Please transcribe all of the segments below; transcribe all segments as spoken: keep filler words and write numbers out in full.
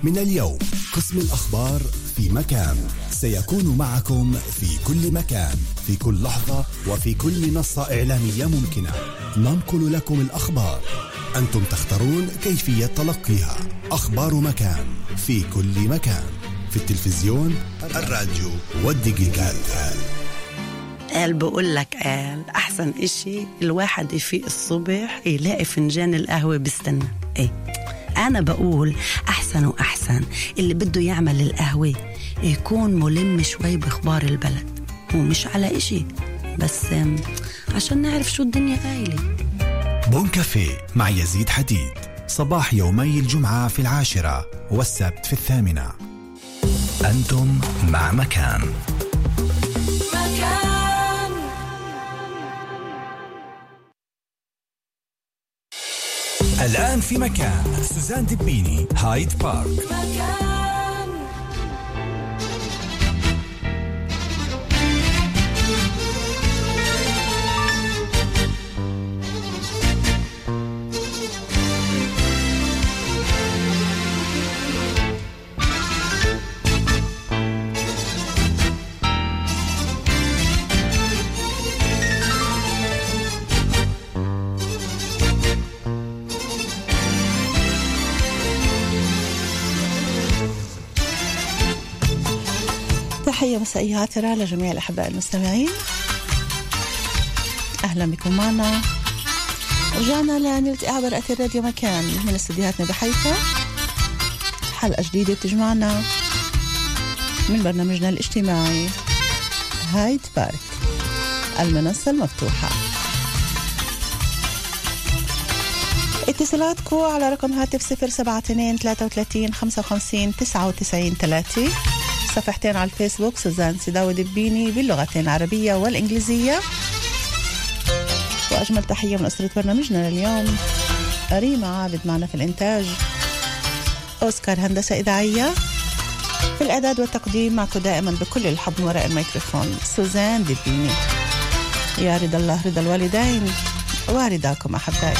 من اليوم قسم الأخبار في مكان سيكون معكم في كل مكان في كل لحظة وفي كل منصة إعلامية ممكنة. ننقل لكم الأخبار، أنتم تختارون كيفية تلقيها. أخبار مكان في كل مكان، في التلفزيون، الراديو والديجيتال. قال بقول لك قال أحسن إشي الواحد يفيق الصبح يلاقي فنجان القهوة بيستنى. إيه أنا بقول أحسن وأحسن اللي بده يعمل القهوة يكون ملم شوي بأخبار البلد، ومش على إشي بس عشان نعرف شو الدنيا قايلة. بون كافيه مع يزيد حديد، صباح يومي الجمعة في العاشرة والسبت في الثامنة. أنتم مع مكان. مكان الآن في مكان سوزان دبيني، هايد بارك. مكان تحية مسائية عطرة لجميع الأحباء المستمعين، أهلا بكم معنا. رجعنا لنلتقي عبر أثير راديو مكان من استديوهاتنا بحيفا، حلقة جديدة بتجمعنا من برنامجنا الاجتماعي هايد بارك، المنصة المفتوحة. اتصالاتكم على رقم هاتف صفر سبعة اثنين ثلاثة وثلاثين خمسة وخمسين تسعة وتسعين ثلاثة، صفحتين على الفيسبوك سوزان سيداوي دبيني باللغتين العربية والإنجليزية. وأجمل تحية من أسرة برنامجنا لليوم، ريما عابد معنا في الإنتاج، أوسكار هندسة إذاعية، في الإعداد والتقديم معكم دائما بكل الحب وراء الميكروفون سوزان دبيني. يا رضا الله رضا الوالدين ورضاكم أحبائي.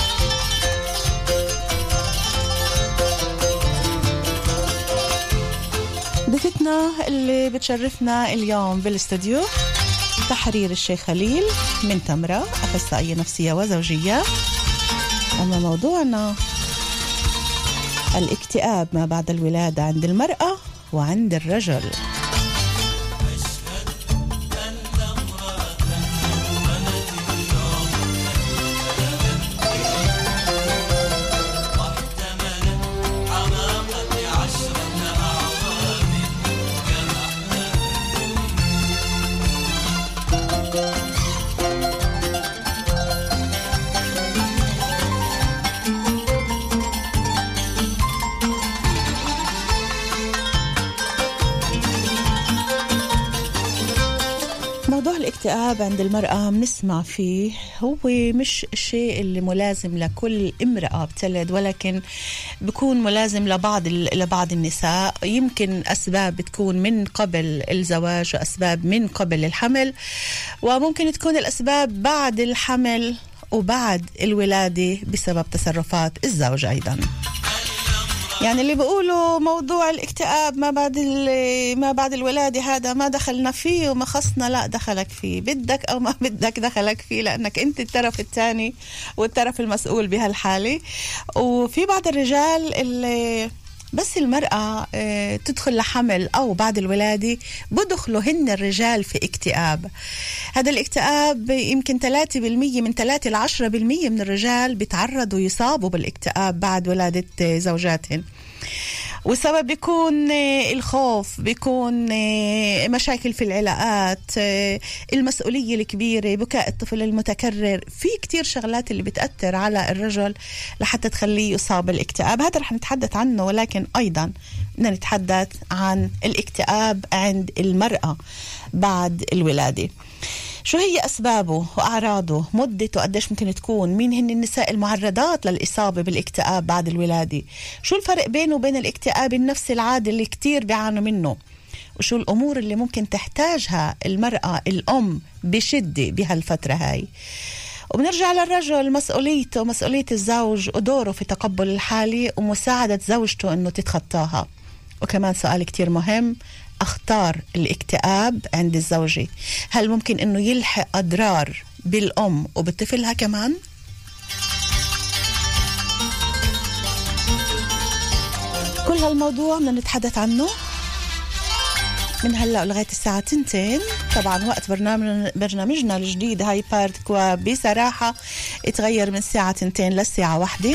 ضيفتنا اللي بتشرفنا اليوم بالاستوديو تحرير الشيخ خليل من تمرة، أخصائية نفسية وزوجية. أما موضوعنا الاكتئاب ما بعد الولادة عند المرأة وعند الرجل. الاكتئاب عند المرأة بنسمع فيه هو مش الشيء اللي ملازم لكل امرأة بتلد، ولكن بيكون ملازم لبعض لبعض النساء. يمكن أسباب بتكون من قبل الزواج وأسباب من قبل الحمل، وممكن تكون الأسباب بعد الحمل وبعد الولادة بسبب تصرفات الزوج أيضا. يعني اللي بيقولوا موضوع الاكتئاب ما بعد ما بعد الولادة هذا ما دخلنا فيه وما خصنا، لا دخلك فيه، بدك أو ما بدك دخلك فيه، لأنك أنت الطرف الثاني والطرف المسؤول بهالحالة. وفي بعض الرجال اللي بس المرأة تدخل لحمل أو بعد الولادة بدخلوا هن الرجال في اكتئاب. هذا الاكتئاب يمكن ثلاثة بالمية من ثلاثة لعشرة بالمية من الرجال بيتعرضوا يصابوا بالاكتئاب بعد ولادة زوجاتهم. والسبب بيكون الخوف، بيكون مشاكل في العلاقات، المسؤولية الكبيرة، بكاء الطفل المتكرر، في كتير شغلات اللي بتأثر على الرجل لحتى تخليه يصاب بالاكتئاب. هذا رح نتحدث عنه، ولكن أيضا بدنا نتحدث عن الاكتئاب عند المرأة بعد الولادة. شو هي أسبابه وأعراضه، مدته قديش ممكن تكون، مين هن النساء المعرضات للإصابة بالاكتئاب بعد الولادة، شو الفرق بينه وبين الاكتئاب النفسي العادي اللي كتير بيعانوا منه، وشو الأمور اللي ممكن تحتاجها المرأة الأم بشدة بهالفترة هاي. وبنرجع للرجل، مسؤوليته مسؤولية الزوج ودوره في تقبل الحالة ومساعدة زوجته أنه تتخطاها. وكمان سؤال كتير مهم، أخطار الاكتئاب عند الزوجة، هل ممكن أنه يلحق أضرار بالأم وبطفلها كمان؟ كل هالموضوع بدنا نتحدث عنه من هلأ لغاية الساعة تنتين. طبعا وقت برنامج برنامجنا الجديد هاي بارت كوا بصراحة اتغير من الساعة تنتين للساعة واحدة.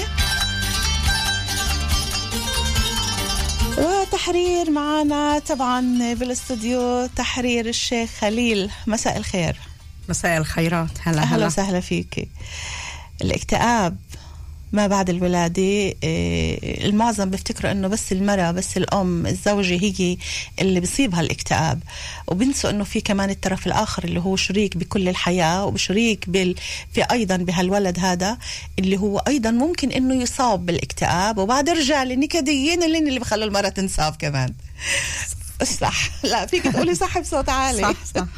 وتحرير معنا طبعا بالاستوديو تحرير الشيخ خليل. مساء الخير. مساء الخيرات. هلا أهلا هلا وسهلا فيك. الاكتئاب ما بعد الولادة، المعظم بيفتكروا انه بس المرأة بس الام الزوجة هي اللي بيصيبها الاكتئاب، وبنسوا انه في كمان الطرف الاخر اللي هو شريك بكل الحياة وشريك بال في ايضا بهالولد هذا اللي هو ايضا ممكن انه يصاب بالاكتئاب. وبعد الرجال النكديين اللي اللي بخلوا المرأة تنصاب كمان. صح؟ لا فيك تقولي صح بصوت عالي. صح صح.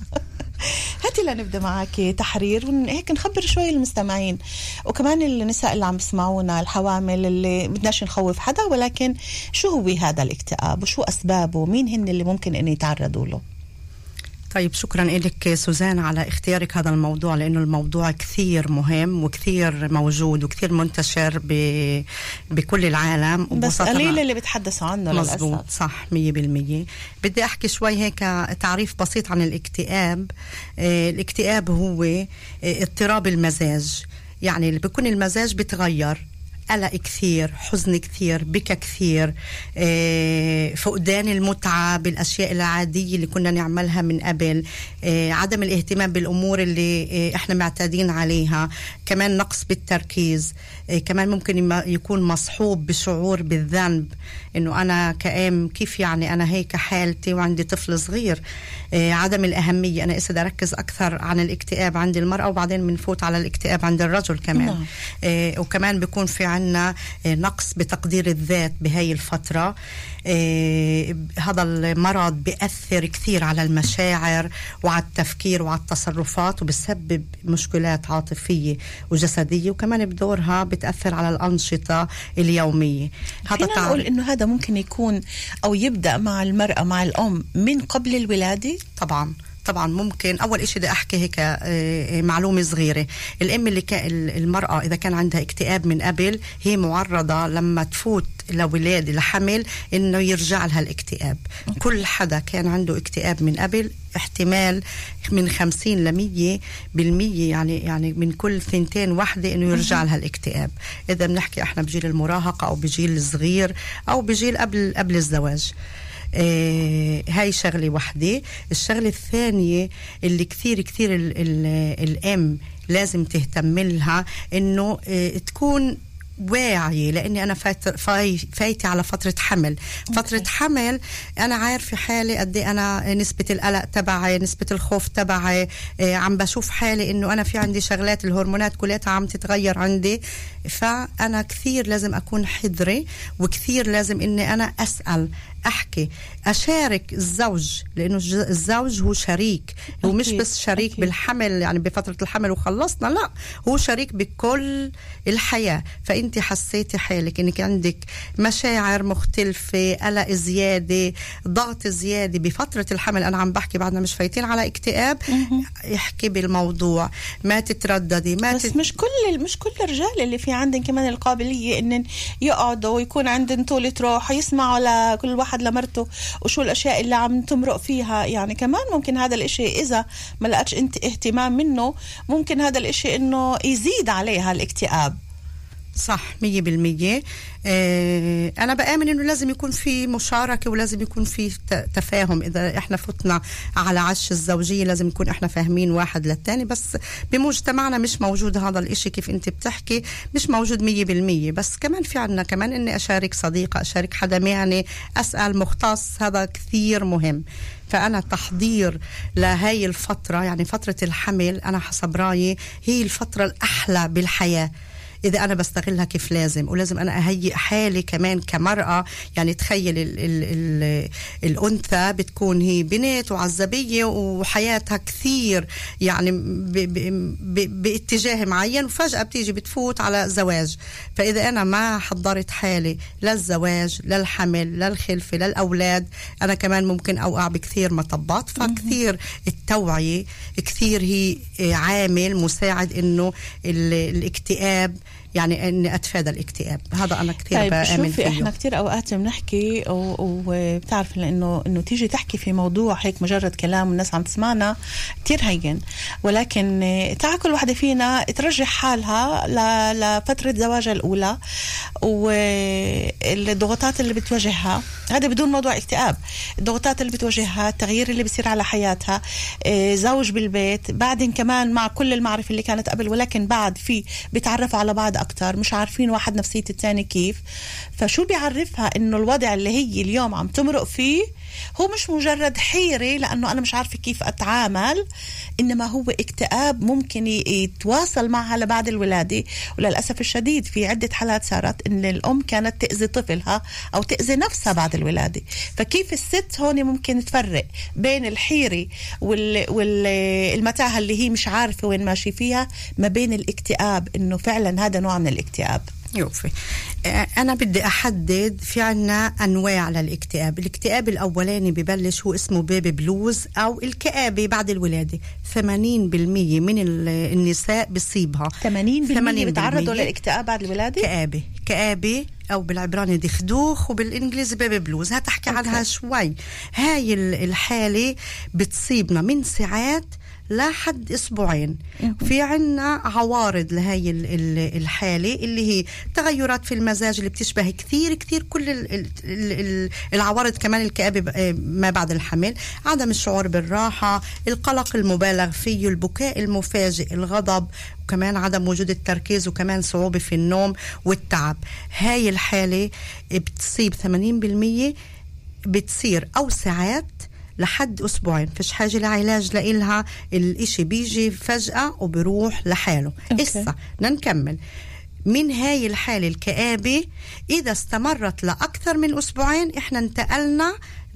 هاتي لنبدأ معك تحرير وهيك نخبر شوي المستمعين وكمان النساء اللي عم بيسمعونا، الحوامل اللي بدناش نخوف حدا، ولكن شو هو هذا الاكتئاب وشو أسبابه، مين هن اللي ممكن أن يتعرضوا له؟ طيب شكرا لك سوزان على اختيارك هذا الموضوع، لأنه الموضوع كثير مهم وكثير موجود وكثير منتشر ب... بكل العالم، بس قليل اللي بتحدثوا عنه للأسف. مزبوط صح مية بالمية. بدي أحكي شوي هيك تعريف بسيط عن الاكتئاب. آه الاكتئاب هو آه اضطراب المزاج، يعني اللي بيكون المزاج بتغير، قلق كثير، حزن كثير، بكى كثير، آه، فقدان المتعة بالأشياء العادية اللي كنا نعملها من قبل، آه، عدم الاهتمام بالأمور اللي آه، احنا معتادين عليها، كمان نقص بالتركيز، آه، كمان ممكن يكون مصحوب بشعور بالذنب، انه انا كأم كيف يعني انا هيك حالتي وعندي طفل صغير، آه، عدم الأهمية. انا اسا اركز اكثر عن الاكتئاب عند المرأة وبعدين بنفوت على الاكتئاب عند الرجل كمان. آه، وكمان بيكون في عنا نقص بتقدير الذات بهاي الفترة. آه هذا المرض بيأثر كثير على المشاعر وعلى التفكير وعلى التصرفات، وبسبب مشكلات عاطفية وجسدية، وكمان بدورها بتأثر على الأنشطة اليومية. هذا فينا نقول إنه هذا ممكن يكون أو يبدأ مع المرأة مع الأم من قبل الولادة؟ طبعاً طبعا ممكن. اول اشي بدي احكي هيك معلومه صغيره، الام اللي كان المراه اذا كان عندها اكتئاب من قبل هي معرضه لما تفوت لولادة لحمل انه يرجع لها الاكتئاب. كل حدا كان عنده اكتئاب من قبل احتمال من خمسين لمية بالمية، يعني يعني من كل ثنتين واحدة انه يرجع لها الاكتئاب، اذا بنحكي احنا بجيل المراهقة او بجيل صغير او بجيل قبل قبل الزواج. آه هاي شغلة واحدة. الشغلة الثانية اللي كثير كثير ال ال الأم لازم تهتم لها إنه آه تكون واعية، لأني أنا فايت فاي فايتي على فترة حمل. فترة okay. حمل أنا عارفة حالي قد أنا نسبة القلق تبعي، نسبة الخوف تبعي، آه عم بشوف حالي إنه أنا في عندي شغلات الهرمونات كلها عم تتغير عندي، فأنا كثير لازم أكون حذرة، وكثير لازم إني أنا أسأل، أحكي، أشارك الزوج، لأنه الزوج هو شريك، هو مش بس شريك أكيد. بالحمل يعني بفترة الحمل وخلصنا، لا هو شريك بكل الحياة. فأنت حسيتي حالك إنك عندك مشاعر مختلفة، قلق زيادة، ضغط زيادة بفترة الحمل، أنا عم بحكي بعدنا مش فايتين على اكتئاب، احكي بالموضوع، ما تترددي. ما بس تت... مش كل مش كل الرجال اللي في عندهم كمان القابلية إن يقعدوا ويكون عندهم طولة روح يسمعوا لكل واحد لمرته وشو الأشياء اللي عم تمرق فيها. يعني كمان ممكن هذا الاشي إذا ما لقتش انت اهتمام منه، ممكن هذا الاشي إنه يزيد عليها الاكتئاب. صح مية بالمية. اه أنا بآمن إنه لازم يكون في مشاركة ولازم يكون في تفاهم. إذا إحنا فتنا على عش الزوجية لازم نكون إحنا فاهمين واحد للتاني، بس بمجتمعنا مش موجود هذا الإشي كيف أنت بتحكي، مش موجود مية بالمية. بس كمان في عنا كمان إني أشارك صديقة، أشارك حدا معني، أسأل مختص، هذا كثير مهم. فأنا تحضير لهاي الفترة، يعني فترة الحمل أنا حسب رأيي هي الفترة الأحلى بالحياة. إذا أنا بستغلها كيف لازم، ولازم أنا أهيئ حالي كمان كمرأة. يعني تخيل ال ال ال الأنثى بتكون هي بنت وعزبية وحياتها كثير يعني ب ب ب باتجاه معين، وفجأة بتيجي بتفوت على زواج. فإذا أنا ما حضرت حالي للزواج، للحمل، للخلفة، للأولاد، أنا كمان ممكن أوقع بكثير مطبات. فكثير التوعية كثير هي عامل مساعد إنه الاكتئاب، يعني اني اتفادى الاكتئاب. هذا انا كثير طيب بآمن فيه. احنا كثير اوقات بنحكي وبتعرف انه انه تيجي تحكي في موضوع هيك مجرد كلام والناس عم تسمعنا كثير هين، ولكن تعال كل وحده فينا ترجح حالها لفتره زواجها الاولى والضغوطات اللي بتواجهها. هذا بدون موضوع اكتئاب، الضغوطات اللي بتواجهها، التغيير اللي بيصير على حياتها، زوج بالبيت، بعدين كمان مع كل المعرفه اللي كانت قبل، ولكن بعد في بيتعرفوا على بعض أكتر، مش عارفين واحد نفسية الثاني كيف. فشو بيعرفها إنه الوضع اللي هي اليوم عم تمرق فيه هو مش مجرد حيرة لأنه أنا مش عارفة كيف أتعامل، إنما هو اكتئاب ممكن يتواصل معها لبعد الولادة. وللأسف الشديد في عدة حالات صارت إن الأم كانت تأذي طفلها أو تأذي نفسها بعد الولادة. فكيف الست هون ممكن تفرق بين الحيرة والمتاهة اللي هي مش عارفة وين ماشي فيها ما بين الاكتئاب، إنه فعلا هذا نوع من الاكتئاب؟ يوفي أنا بدي أحدد. في عنا أنواع للاكتئاب. الاكتئاب الأولاني ببلش هو اسمه بيبي بلوز أو الكآبة بعد الولادة. ثمانين بالمية من النساء بصيبها. ثمانين بالمية بتعرضوا للاكتئاب بعد الولادة؟ كآبة كآبة أو بالعبراني دخدوخ وبالإنجليزي بيبي بلوز. هتحكي عنها شوي. هاي الحالة بتصيبنا من ساعات لحد أسبوعين. في عنا عوارض لهاي الحالة اللي هي تغيرات في المزاج اللي بتشبه كثير كثير كل العوارض. كمان الكآبة ما بعد الحمل، عدم الشعور بالراحة، القلق المبالغ فيه، البكاء المفاجئ، الغضب، وكمان عدم وجود التركيز، وكمان صعوبة في النوم والتعب. هاي الحالة بتصيب ثمانين بالمية، بتصير أو ساعات لحد أسبوعين، فيش حاجة لعلاج لإلها، الإشي بيجي فجأة وبروح لحاله. إسا نكمل من هاي الحالة الكآبة. إذا استمرت لأكثر من أسبوعين إحنا انتقلنا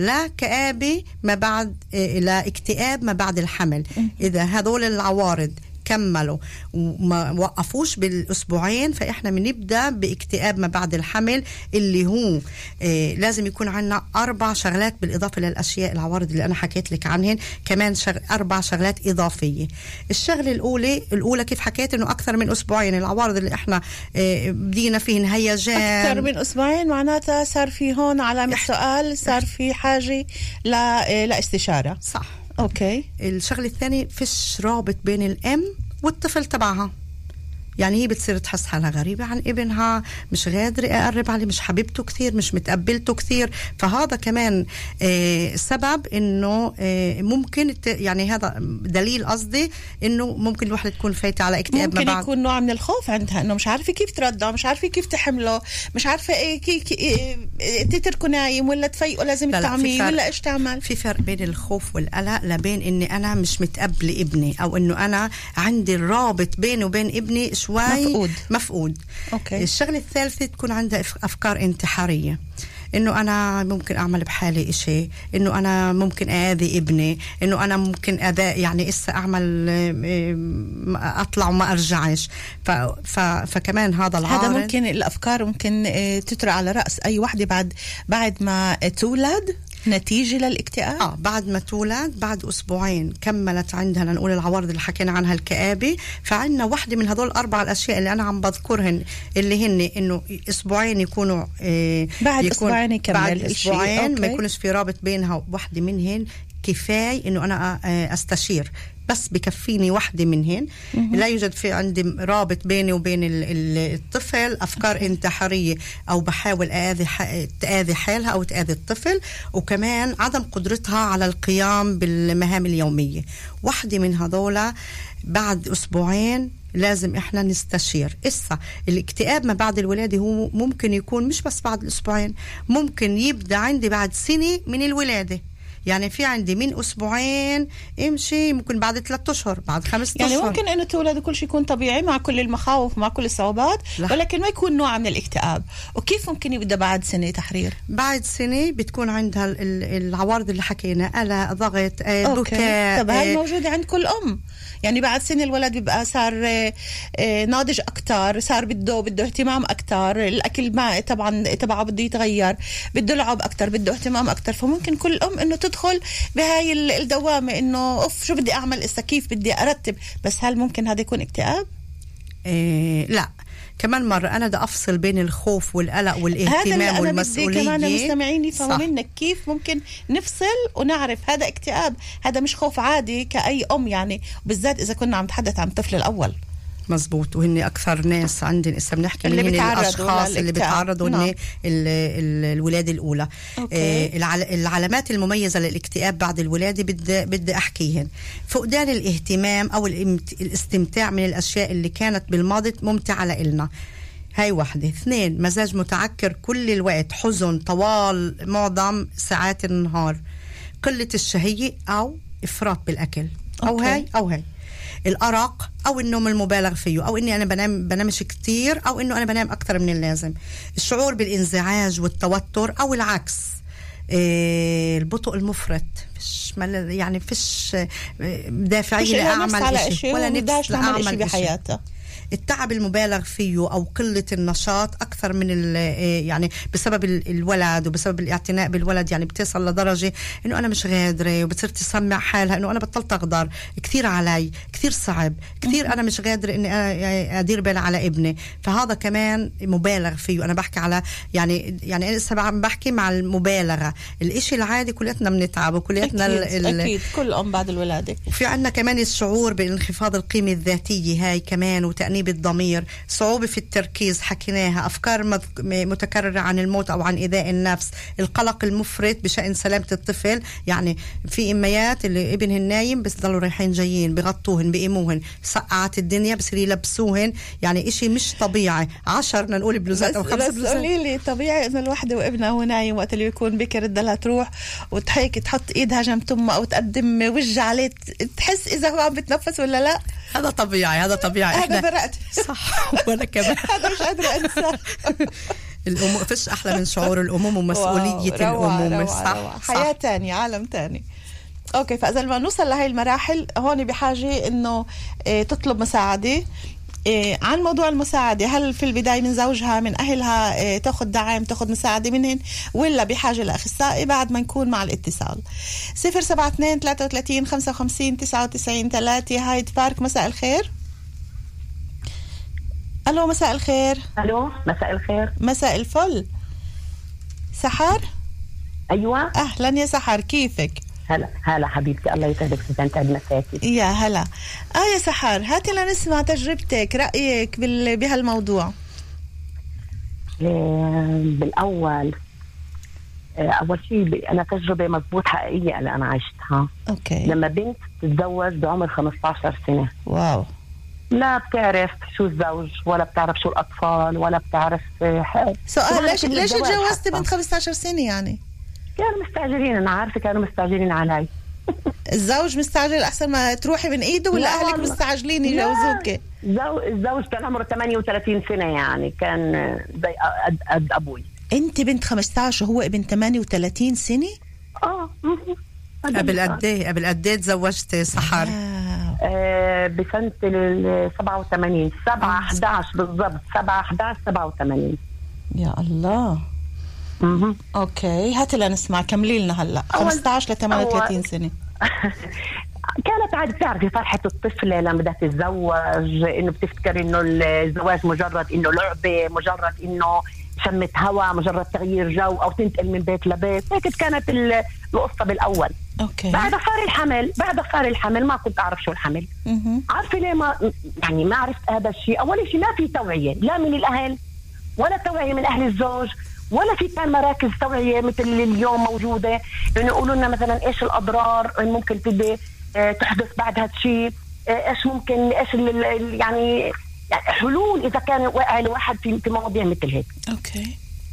لكآبة ما بعد إيه لاكتئاب ما بعد الحمل. إذا هذول العوارض كملوا وما وقفوش بالأسبوعين فإحنا بنبدأ باكتئاب ما بعد الحمل، اللي هو إيه لازم يكون عنا أربع شغلات بالإضافة للأشياء العوارض اللي أنا حكيت لك عنهن. كمان شغ... أربع شغلات إضافية. الشغلة الأولى الأولى كيف حكيت إنه أكثر من أسبوعين العوارض اللي إحنا إيه بدينا فيهن هيجان. أكثر من أسبوعين معناتها صار في هون علامة سؤال، صار في حاجة لا لاستشارة. صح. أوكي. الشغلة الثانية فيش رابط بين الأم والطفل تبعها. يعني هي بتصير تحس حالها غريبة عن ابنها، مش قادرة أقرب عليه، مش حبيبته كثير، مش متقبلته كثير. فهذا كمان آه سبب إنه آه ممكن يعني هذا دليل قصدي إنه ممكن الواحدة تكون فايتة على اكتئاب. ممكن ما بعد يكون نوع من الخوف عندها، إنه مش عارفة كيف ترضع، مش عارفة كيف تحمله، مش عارفة إيه كيف إيه تتركه نايم ولا تفيقه لازم تعميه ولا إيش تعمل. في فرق بين الخوف والقلق لبين إني أنا مش متقبلة ابني، أو إنه أنا عندي الرابط بيني وبين ابني شوي مفقود. مفقود. أوكي. الشغلة الثالثة تكون عندها أفكار انتحارية، إنه أنا ممكن أعمل بحالي إشي، إنه أنا ممكن أذي ابني، إنه أنا ممكن أذى يعني إسا أعمل أطلع وما أرجعش. ف ف فكمان هذا العارض. هذا ممكن الأفكار ممكن تطرأ على رأس أي واحدة بعد بعد ما تولد نتيجة للاكتئاب. آه بعد ما تولد بعد أسبوعين كملت عندها نقول العوارض اللي حكينا عنها الكآبة. فعندنا واحدة من هذول الأربع الأشياء اللي أنا عم بذكرهن اللي هن إنه أسبوعين يكونوا آه بعد يكون أسبوعين يكمل بعد أسبوعين ما يكونش في رابط بينها. واحدة منهن كفاية إنه أنا أستشير، بس بكفيني واحدة منهن. لا يوجد في عندي رابط بيني وبين الطفل، أفكار انتحارية أو بحاول أذي تأذي حالها أو تأذي الطفل، وكمان عدم قدرتها على القيام بالمهام اليومية. واحدة من هذولا بعد أسبوعين لازم إحنا نستشير. إسا الاكتئاب ما بعد الولادة هو ممكن يكون مش بس بعد الأسبوعين، ممكن يبدأ عندي بعد سنة من الولادة. يعني في عندي من أسبوعين امشي ممكن بعد ثلاثة أشهر بعد خمسة يعني أشهر. ممكن إنه تولد وكل شيء يكون طبيعي مع كل المخاوف مع كل الصعوبات لا. ولكن ما يكون نوع من الاكتئاب. وكيف ممكن يبدأ بعد سنة تحرير؟ بعد سنة بتكون عندها العوارض اللي حكينا، قلق، ضغط، بكاء. طب هاي موجودة عند كل أم؟ يعني بعد سنة الولد بيبقى صار ناضج أكتر، صار بده بده اهتمام أكتر، الأكل ما طبعا تبعه بده يتغير، بده لعب أكتر، بده اهتمام أكتر. فممكن كل أم إنه تدخل بهاي الدوامة إنه أوف شو بدي أعمل إسا كيف بدي أرتب. بس هل ممكن هذا يكون اكتئاب؟ إيه لا، كمان مرة أنا دا أفصل بين الخوف والقلق والاهتمام والمسؤولية. هذا اللي أنا بدي كمان مستمعين يفهموا منك كيف ممكن نفصل ونعرف هذا اكتئاب، هذا مش خوف عادي كأي أم يعني، بالذات إذا كنا عم نتحدث عن الطفل الأول. مزبوط، وهن أكثر ناس عندنا إسا بنحكي اللي من الأشخاص اللي بيتعرضوا نعم. هن الولادة الأولى. آه العلامات المميزة للاكتئاب بعد الولادة بدي بدي أحكيهن. فقدان الاهتمام أو الاستمتاع من الأشياء اللي كانت بالماضي ممتعة لإلنا، هاي واحدة. اثنين، مزاج متعكر كل الوقت، حزن طوال معظم ساعات النهار، قلة الشهية أو إفراط بالأكل أو أوكي. هاي أو هاي الأرق أو النوم المبالغ فيه، أو إني أنا بنام بنامش كتير، أو إنه أنا بنام أكتر من اللازم، الشعور بالانزعاج والتوتر، أو العكس إيه البطء المفرط، فيش يعني فيش دافعية لأعمل إشي ولا نفس لأعمل إشي بحياته، التعب المبالغ فيه أو قلة النشاط أكثر من يعني بسبب الولد وبسبب الاعتناء بالولد، يعني بتصل لدرجة إنه أنا مش قادرة، وبتصير تسمع حالها إنه أنا بطلت أقدر، كثير علي، كثير صعب، كثير أنا مش قادرة إني أدير بالي على ابني. فهذا كمان مبالغ فيه. أنا بحكي على يعني يعني أنا لسه عم بحكي مع المبالغة. الإشي العادي كلياتنا بنتعب وكلياتنا أكيد, ال أكيد كل أم بعد الولادة. وفي عنا كمان الشعور بانخفاض القيمة الذاتية، هاي كمان، وتأنيب الضمير، صعوبة في التركيز حكيناها، أفكار متكررة عن الموت أو عن إيذاء النفس، القلق المفرط بشأن سلامة الطفل. يعني في إميات اللي ابنهن نايم بس ضلوا رايحين جايين بغطوهن بيقيموهن، سقعت الدنيا بصير يلبسوهن، يعني إشي مش طبيعي. عشرنا نقول بلوزات أو خمس بلوزات. قولي لي طبيعي إنه الوحدة وابنها هو نايم وقت اللي يكون بكر بدها تروح وتحيك تحط إيدها جنب تمها أو تقدم وجه عليه تحس إذا هو عم بتنفس ولا لا؟ هذا طبيعي، هذا طبيعي. هذا برأت صح. وأنا كمان هذا مش قادرة أنسى. الأم فيش أحلى من شعور الأمومة ومسؤولية الأمومة. صح. حياة تانية، عالم تاني. أوكي، فإذا ما نوصل لهي المراحل هون بحاجة إنه إيه تطلب مساعدة. إيه عن موضوع المساعدة، هل في البداية من زوجها من أهلها إيه تأخذ دعم تأخذ مساعدة منهن، ولا بحاجة لأخصائي بعد ما نكون مع الاتصال؟ صفر سبعة اثنين ثلاثة وثلاثين خمسة وخمسين تسعة وتسعين ثلاثة. هايد بارك، مساء الخير. ألو مساء الخير. ألو مساء الخير. مساء الفل. سحر؟ أيوة. أهلا يا سحر، كيفك؟ هلا هلا حبيبتي، الله يسعدك سنتعب مساكي. يا هلا. آه يا سحر، هاتي لنسمع تجربتك، رأيك بال... بهالموضوع. بالأول أول شيء أنا تجربة مضبوط حقيقية اللي أنا عشتها. أوكي. لما بنت تتزوج بعمر خمسة عشر سنة. واو. لا بتعرف شو الزوج ولا بتعرف شو الأطفال ولا بتعرف حق. سؤال، ليش ليش تجوزتي بنت خمسة عشر سنة يعني؟ كانوا مستعجلين، أنا عارفة كانوا مستعجلين علي. الزوج مستعجل أحسن ما تروحي من إيده، ولا أهلك مستعجلين يجوزوك؟ الزوج كان عمره ثمانية وثلاثين سنة، يعني كان زي قد, قد أبوي. أنت بنت خمسة عشر وهو ابن ثمانية وثلاثين سنة؟ آه. قبل قد إيه قبل قد إيه تزوجت سحر؟ آه بسنة ال سبعة وثمانين، سبعة أحد عشر بالضبط، سبعة أحد عشر سبعة وثمانين. يا الله. اها اوكي، هاتي لنسمع، كملي لنا هلا. خمسة عشر ل ثمانية وثلاثين سنة. كانت عادي، بتعرفي فرحة الطفلة لما بدها تتزوج، انه بتفتكر انه الزواج مجرد انه لعبة، مجرد انه شمة هوا، مجرد تغيير جو او تنتقل من بيت لبيت. هيك كانت القصة بالاول. اوكي. بعد صار الحمل، بعد صار الحمل ما كنت اعرف شو الحمل. عارفة ليه ما يعني ما عرفت هذا الشيء؟ اول شيء ما في توعية لا من الاهل ولا توعية من اهل الزوج، ولا في كان مراكز توعية مثل اللي اليوم موجودة، انه يعني يقولوا لنا مثلا ايش الاضرار ممكن تبي تحدث بعد هذا الشيء، ايش ممكن ايش يعني يعني حلول اذا كان واقع الواحد في في مواضيع مثل هيك. اوكي.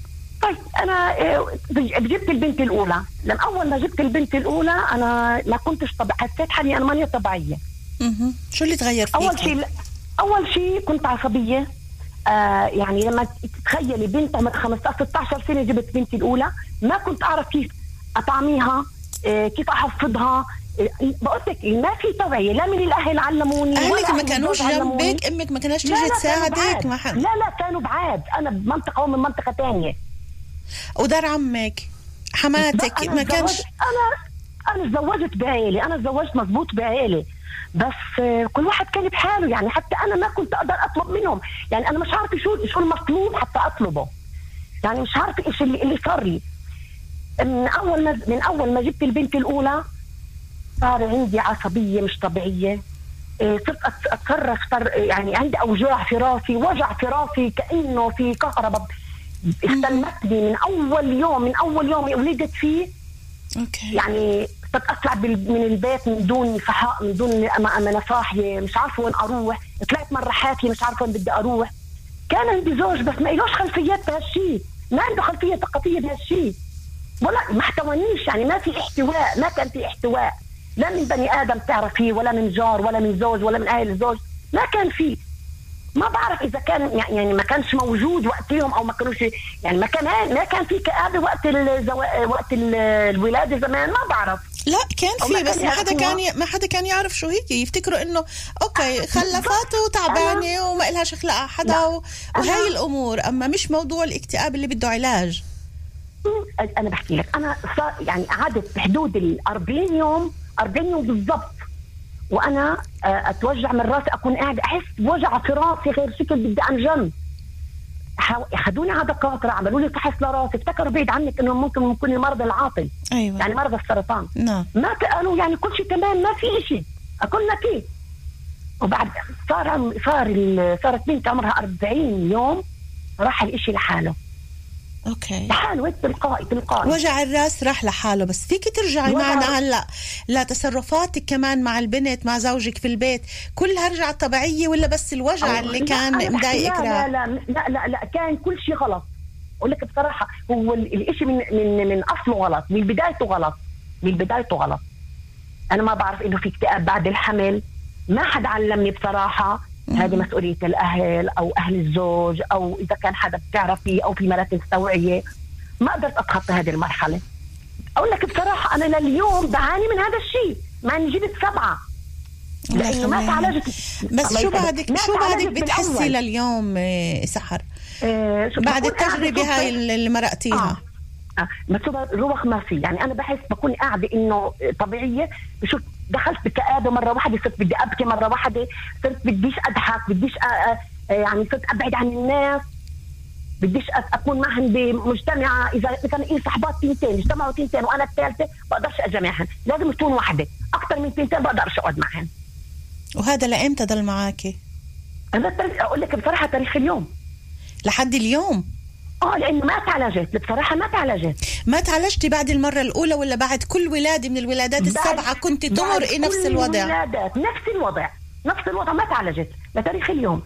طلعت انا جبت البنت الاولى. لما اول ما جبت البنت الاولى انا ما كنتش طبيعيه، حسيت حالي انا ماني طبيعيه. اها شو اللي تغير فيك؟ اول شيء اول شيء كنت عصبيه. آه يعني لما تتخيلي بنت عمرها خمسطعش ستطعش سنه جبت بنتي الاولى، ما كنت اعرف كيف اطعميها، آه كيف احفظها. آه بقول لك ما في توعيه، لا من الاهل علموني، اهلك ما كانوش جنبك، امك ما كانش تيجي تساعدك؟ ما حد. لا لا كانوا بعاد، انا بمنطقه ومن منطقه ثانيه. ودار عمك حماتك ما كانش؟ انا انا تزوجت بعائله، انا تزوجت مزبوط بعائله، بس كل واحد كان بحاله. يعني حتى انا ما كنت اقدر اطلب منهم، يعني انا مش عارفه شو شو المطلوب حتى اطلبه، يعني مش عارفه ايش اللي اللي صار لي. من اول ما من اول ما جبت البنت الاولى صار عندي عصبيه مش طبيعيه. صرت اتصرف، يعني عندي اوجاع في راسي، وجع في راسي كانه في كهرباء استلمتني من اول يوم من اول يوم ولدت فيه. اوكي. يعني صرت اطلع من البيت من دون صحاء، من دون انا صاحيه، مش عارفه وين اروح. طلعت مره حافيه مش عارفه وين بدي اروح. كان عندي زوج بس ما إلوش خلفيات بهالشيء، ما عنده خلفيه ثقافيه بهالشيء، ولا ما احتوانيش. يعني ما في احتواء، ما كان في احتواء لا من بني ادم تعرفيه، ولا من جار، ولا من زوج، ولا من اهل الزوج، ما كان فيه. ما بعرف اذا كان يعني ما كانش موجود وقتهم او ما كانوش، يعني ما كان ما كان في كآبة وقت الزو... وقت الولاده زمان، ما بعرف. لا كان في، بس ما حدا كان ي... ما حدا كان يعرف شو هي. يفتكروا انه اوكي خلفات وتعبانه وما إلها شخلقها حدا و... وهي الامور، اما مش موضوع الاكتئاب اللي بده علاج. انا بحكي لك، انا صار يعني قعدت بحدود ال أربعين يوم أربعين يوم بالضبط وانا اتوجع من راسي، اكون قاعده احس بوجع في راسي غير شكل، بدي انجن. اخذوني على دكاتره، عملوا لي فحص لراسي، افتكروا بعيد عنك انه ممكن يكون المرض العاطل. أيوة. يعني مرض السرطان. نعم. ما قالوا يعني كل شيء تمام، ما في شيء. اقول لك ايه. وبعد صار صار صارت بنت عمرها أربعين يوم راح الاشي لحاله. اوكي. لحاله تلقائي تلقائي. وجع الراس راح لحاله، بس فيك ترجعي معنا هلا لتصرفاتك كمان مع البنت مع زوجك في البيت، كلها رجعت طبيعيه ولا بس الوجع اللي كان مضايقك؟ لا لا لا لا لا كان كل شيء غلط. اقول لك بصراحه، هو الاشي من من من اصله غلط، من بدايته غلط، من بدايته غلط. انا ما بعرف انه في اكتئاب بعد الحمل، ما حدا علمني بصراحه. هذه مسؤولية الأهل أو أهل الزوج، أو إذا كان حدا بتعرفي أو في مراكز توعية. ما قدرت أتخطى هذه المرحلة. أقول لك بصراحة أنا لليوم بعاني من هذا الشيء، مع إني جبت سبعة لأنه ما تعالجت. بس شو بعدك شو بعدك بتحسي لليوم سحر؟ آه بعد التجربة هاي اللي مرقتيها؟ آه. بس روح ما في، يعني أنا بحس بكون قاعدة إنه طبيعية. بشوف دخلت بكآبة مرة واحدة، صرت بدي أبكي مرة واحدة، صرت بديش أضحك، بديش أ... يعني صرت أبعد عن الناس، بديش أكون معهم بمجتمع. إذا كان إيه صحبات تنتين اجتمعوا تنتين وأنا الثالثة بقدرش أجمعهم، لازم تكون واحدة. أكثر من تنتين بقدرش أقعد معهم. وهذا لأمتى ضل معاكي؟ أنا أقول لك بصراحة تاريخ اليوم لحد اليوم. اه لانه ما تعالجت بصراحه، ما تعالجت. ما تعالجتي بعد المره الاولى ولا بعد كل ولاده من الولادات السبعه كنت تمرقي نفس الوضع؟ الولادات نفس الوضع نفس الوضع، ما تعالجت لتاريخ اليوم.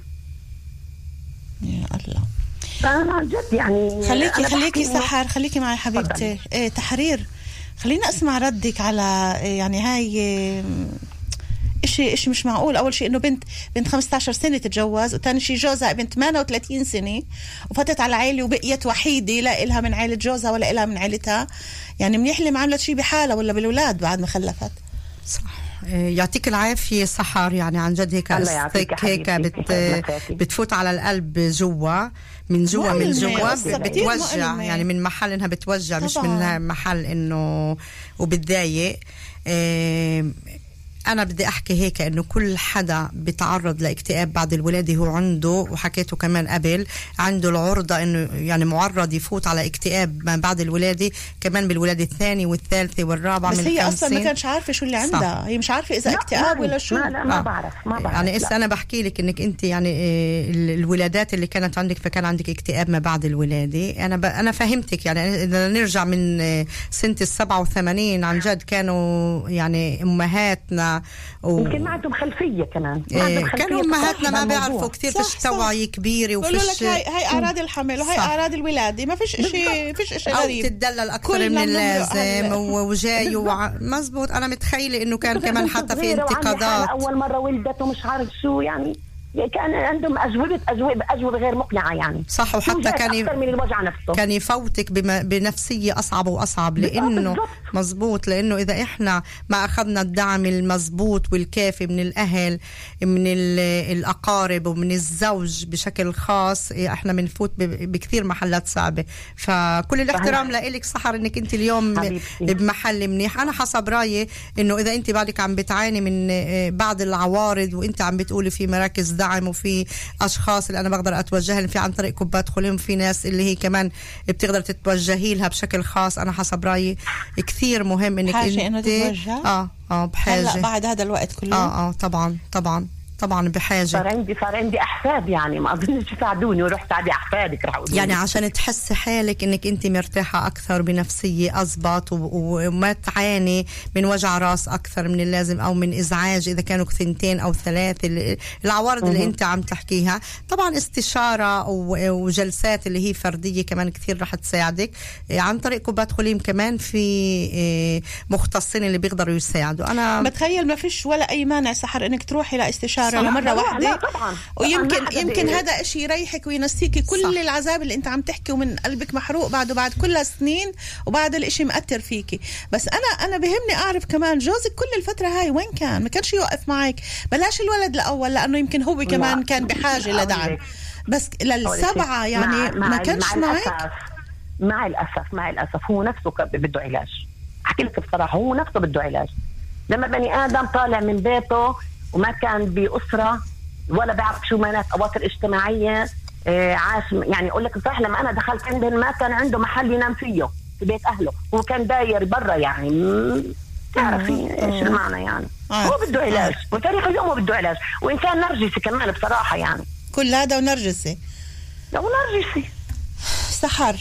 يا الله. فانا جد يعني خليكي خليكي سحر، خليكي معي حبيبتي. إيه تحرير، خلينا اسمع ردك على يعني هاي إشي إشي مش معقول. أول شيء إنه بنت بنت خمسة عشر سنة تتجوز، وثاني شيء جوزها بنت ثمانية وثلاثين سنة وفتت على عائلة وبقيت وحيدة، لا إلها من عائلة جوزها ولا إلها من عائلتها. يعني منيح اللي ما عملت شيء بحالها ولا بالأولاد بعد ما خلفت. صح. يعطيك العافية سحر، يعني عن جد هيك قصتك هيك بت بتفوت على القلب جوا من جوا من جوا بتوجع، يعني من محل إنها بتوجع طبعا. مش من محل إنه وبتضايق. اه أنا بدي أحكي هيك إنه كل حدا بيتعرض لاكتئاب بعد الولادة هو عنده، وحكيته كمان قبل، عنده العرضة إنه يعني معرض يفوت على اكتئاب ما بعد الولادة، كمان بالولادة الثانية والثالثة والرابعة. بس من هي أصلا ما كانش عارفة شو اللي عندها. صح. هي مش عارفة إذا اكتئاب ولا شو. لا لا ما بعرف ما بعرف. يعني إسا أنا بحكي لك إنك أنت يعني الولادات اللي كانت عندك فكان عندك اكتئاب ما بعد الولادة. أنا ب... أنا فهمتك. يعني إذا نرجع من سنة السبعة وثمانين عن جد كانوا يعني أمهاتنا و... و... يمكن ما عندهم خلفيه كمان. إيه كانوا امهاتنا ما بيعرفوا كثير، فيش توعيه كبيره وفيش. هاي هاي اعراض الحمل وهي اعراض الولاده، ما فيش شيء فيش شيء غريب، او تتدلل اكثر من اللازم وجاي وع... مزبوط. انا متخيله انه كان كمان حتى في انتقادات اول مره ولدت ومش عارف شو يعني، كان عندهم أجوبة أجوبة أجوبة غير مقنعة يعني. صح. وحتى كان أكثر من الوجع نفسه، كان يفوتك بنفسية أصعب وأصعب، لأنه مزبوط، لأنه إذا إحنا ما أخذنا الدعم المزبوط والكافي من الأهل، من الأقارب ومن الزوج بشكل خاص، إحنا بنفوت بكثير محلات صعبة. فكل الاحترام لإلك سحر إنك أنت اليوم حبيبتي بمحل منيح. أنا حسب رأيي إنه إذا أنت بعدك عم بتعاني من بعض العوارض وأنت عم بتقولي في مراكز دعم وفي أشخاص اللي أنا بقدر أتوجه لهم في عن طريق كوبات خليم، في ناس اللي هي كمان بتقدر تتوجهي لها بشكل خاص. أنا حسب رأيي كثير مهم إنك أنت آه آه بحاجة هلا بعد هذا الوقت كله. آه آه طبعا طبعا طبعا بحاجة. صار عندي صار عندي أحفاد يعني، ما أظنش يساعدوني وروح ساعدي أحفادك رح أقول يعني عشان تحسي حالك إنك أنت مرتاحة أكثر بنفسية أزبط وما تعاني من وجع راس أكثر من اللازم أو من إزعاج إذا كانوا ثنتين أو ثلاثة. العوارض اللي أنت عم تحكيها طبعا استشارة وجلسات اللي هي فردية كمان كثير رح تساعدك عن طريق كوبات خليم. كمان في مختصين اللي بيقدروا يساعدوا. أنا بتخيل ما فيش ولا أي مانع سحر إنك تروحي لاستشارة مرة واحدة، ويمكن يمكن هذا إشي يريحك وينسيكي كل صح. العذاب اللي انت عم تحكي ومن قلبك محروق بعده بعد كل سنين وبعد الإشي مأثر فيكي. بس أنا أنا بهمني أعرف كمان جوزك كل الفترة هاي وين كان؟ ما كانش يوقف معك؟ بلاش الولد الأول لأنه يمكن هو كمان كان بحاجة لدعم، بس للسبعة يعني مع ما كانش مع معك. مع الأسف مع الأسف هو نفسه بده علاج. أحكي لك بصراحة هو نفسه بده علاج. لما بني آدم طالع من بيته وما كان بأسرة ولا بعرف شو معنات أواصر اجتماعية، آه عاش يعني. أقول لك صح، لما أنا دخلت عندهم ما كان عنده محل ينام فيه في بيت أهله، هو كان داير برا يعني. تعرفي إيش المعنى يعني. آه. هو بده علاج آه. وتاريخ اليوم هو بده علاج، وإن كان نرجسي كمان بصراحة يعني. كل هذا ونرجسي ونرجسي سحر.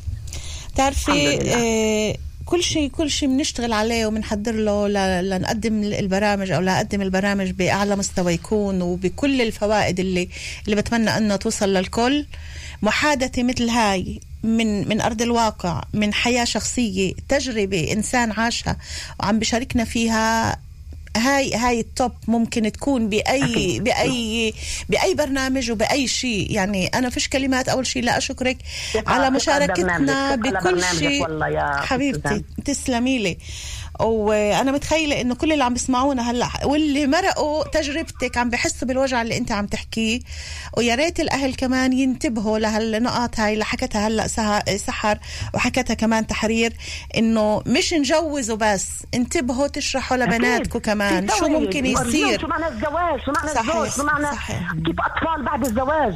تعرفي آه كل شيء كل شيء بنشتغل عليه وبنحضر له لنقدم البرامج او لنقدم البرامج باعلى مستوى يكون وبكل الفوائد اللي اللي بتمنى انه توصل للكل. محادثه مثل هاي من من ارض الواقع، من حياه شخصيه، تجربه انسان عاشها وعم بشاركنا فيها، هاي هاي التوب ممكن تكون بأي بأي بأي برنامج وبأي شيء. يعني أنا فيش كلمات. أول شيء لا أشكرك على مشاركتنا بكل شيء حبيبتي، تسلمي لي. وانا متخيله انه كل اللي عم بيسمعونا هلا واللي مرقوا تجربتك عم بحسوا بالوجع اللي انت عم تحكيه، ويا ريت الاهل كمان ينتبهوا لهالنقاط هاي اللي حكتها هلا سحر وحكتها كمان تحرير، انه مش نجوزوا بس، انتبهوا تشرحوا لبناتكم كمان شو ممكن يصير، شو معنى الزواج، شو معنى الزواج، شو معنى كيف اطفال بعد الزواج.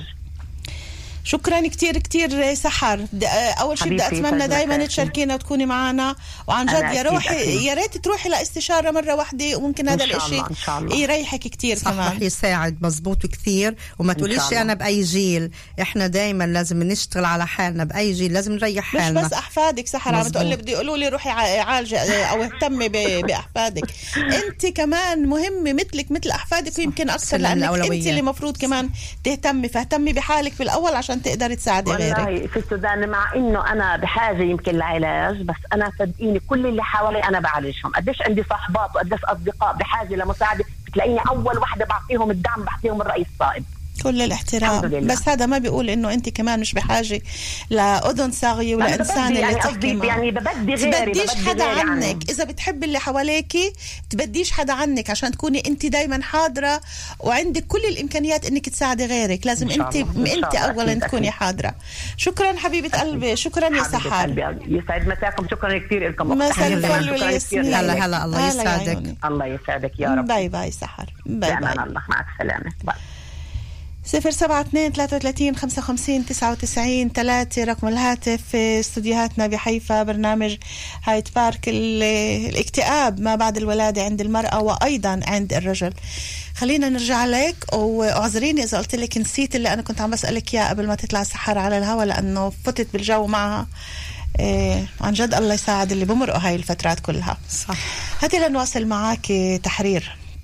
شكرا كتير كتير سحر. اول شيء بدي اتمنى دائما تشاركينا وتكوني معنا، وعن جد يا روحي يا ريت تروحي لاستشاره مره واحده، وممكن هذا الاشي يريحك كتير كمان. صح، يساعد مزبوط كتير. وما تقوليش انا باي جيل، احنا دائما لازم نشتغل على حالنا، باي جيل لازم نريح حالنا. مش بس احفادك سحر عم تقول لي بدي يقولوا لي روحي عالجه او اهتمي باحفادك، انت كمان مهمه مثلك مثل احفادك ويمكن اكثر، لانك انت اللي مفروض كمان تهتمي. فاهتمي بحالك بالاول عشان تقدر تساعدي غيرك. في السودان مع انه انا بحاجه يمكن لعلاج، بس انا صدقيني كل اللي حوالي انا بعالجهم. قديش عندي صاحبات وقديش اصدقاء بحاجه لمساعده، بتلاقيني اول وحده بعطيهم الدعم، بعطيهم الراي الصائب. كل الاحترام، بس هذا ما بيقول انه انت كمان مش بحاجه لاذن صاغيه ولا انسان اللي يعني تحكي معه. يعني ببدي غيري، تبديش ببدي حدا غيري عنك يعني. اذا بتحب اللي حواليكي تبديش حدا عنك، عشان تكوني انت دايما حاضره وعندك كل الامكانيات انك تساعدي غيرك. لازم انت انت اولا تكوني حاضره. شكرا حبيبه قلبي، شكرا يا سحر، يسعد مساكم. شكرا كثير لكم. مساء الفل والياسمين. هلا هلا الله يسعدك. الله يسعدك يا رب. باي باي سحر، باي باي. الله مع السلامه. باي. صفر سبعة اثنين ثلاثة وثلاثين خمسة وخمسين تسعة وتسعين ثلاثة رقم الهاتف. في استوديوهاتنا بحيفا برنامج هايت بارك الاكتئاب ما بعد الولادة عند المرأة وأيضا عند الرجل. خلينا نرجع لك، واعذريني إذا قلت لك نسيت اللي أنا كنت عم بسألك إياه قبل ما تطلع سحر على الهواء، لأنه فتت بالجو معها. إيه عن جد الله يساعد اللي بمرقوا هاي الفترات كلها. صح. هاتي لنواصل معاك تحرير.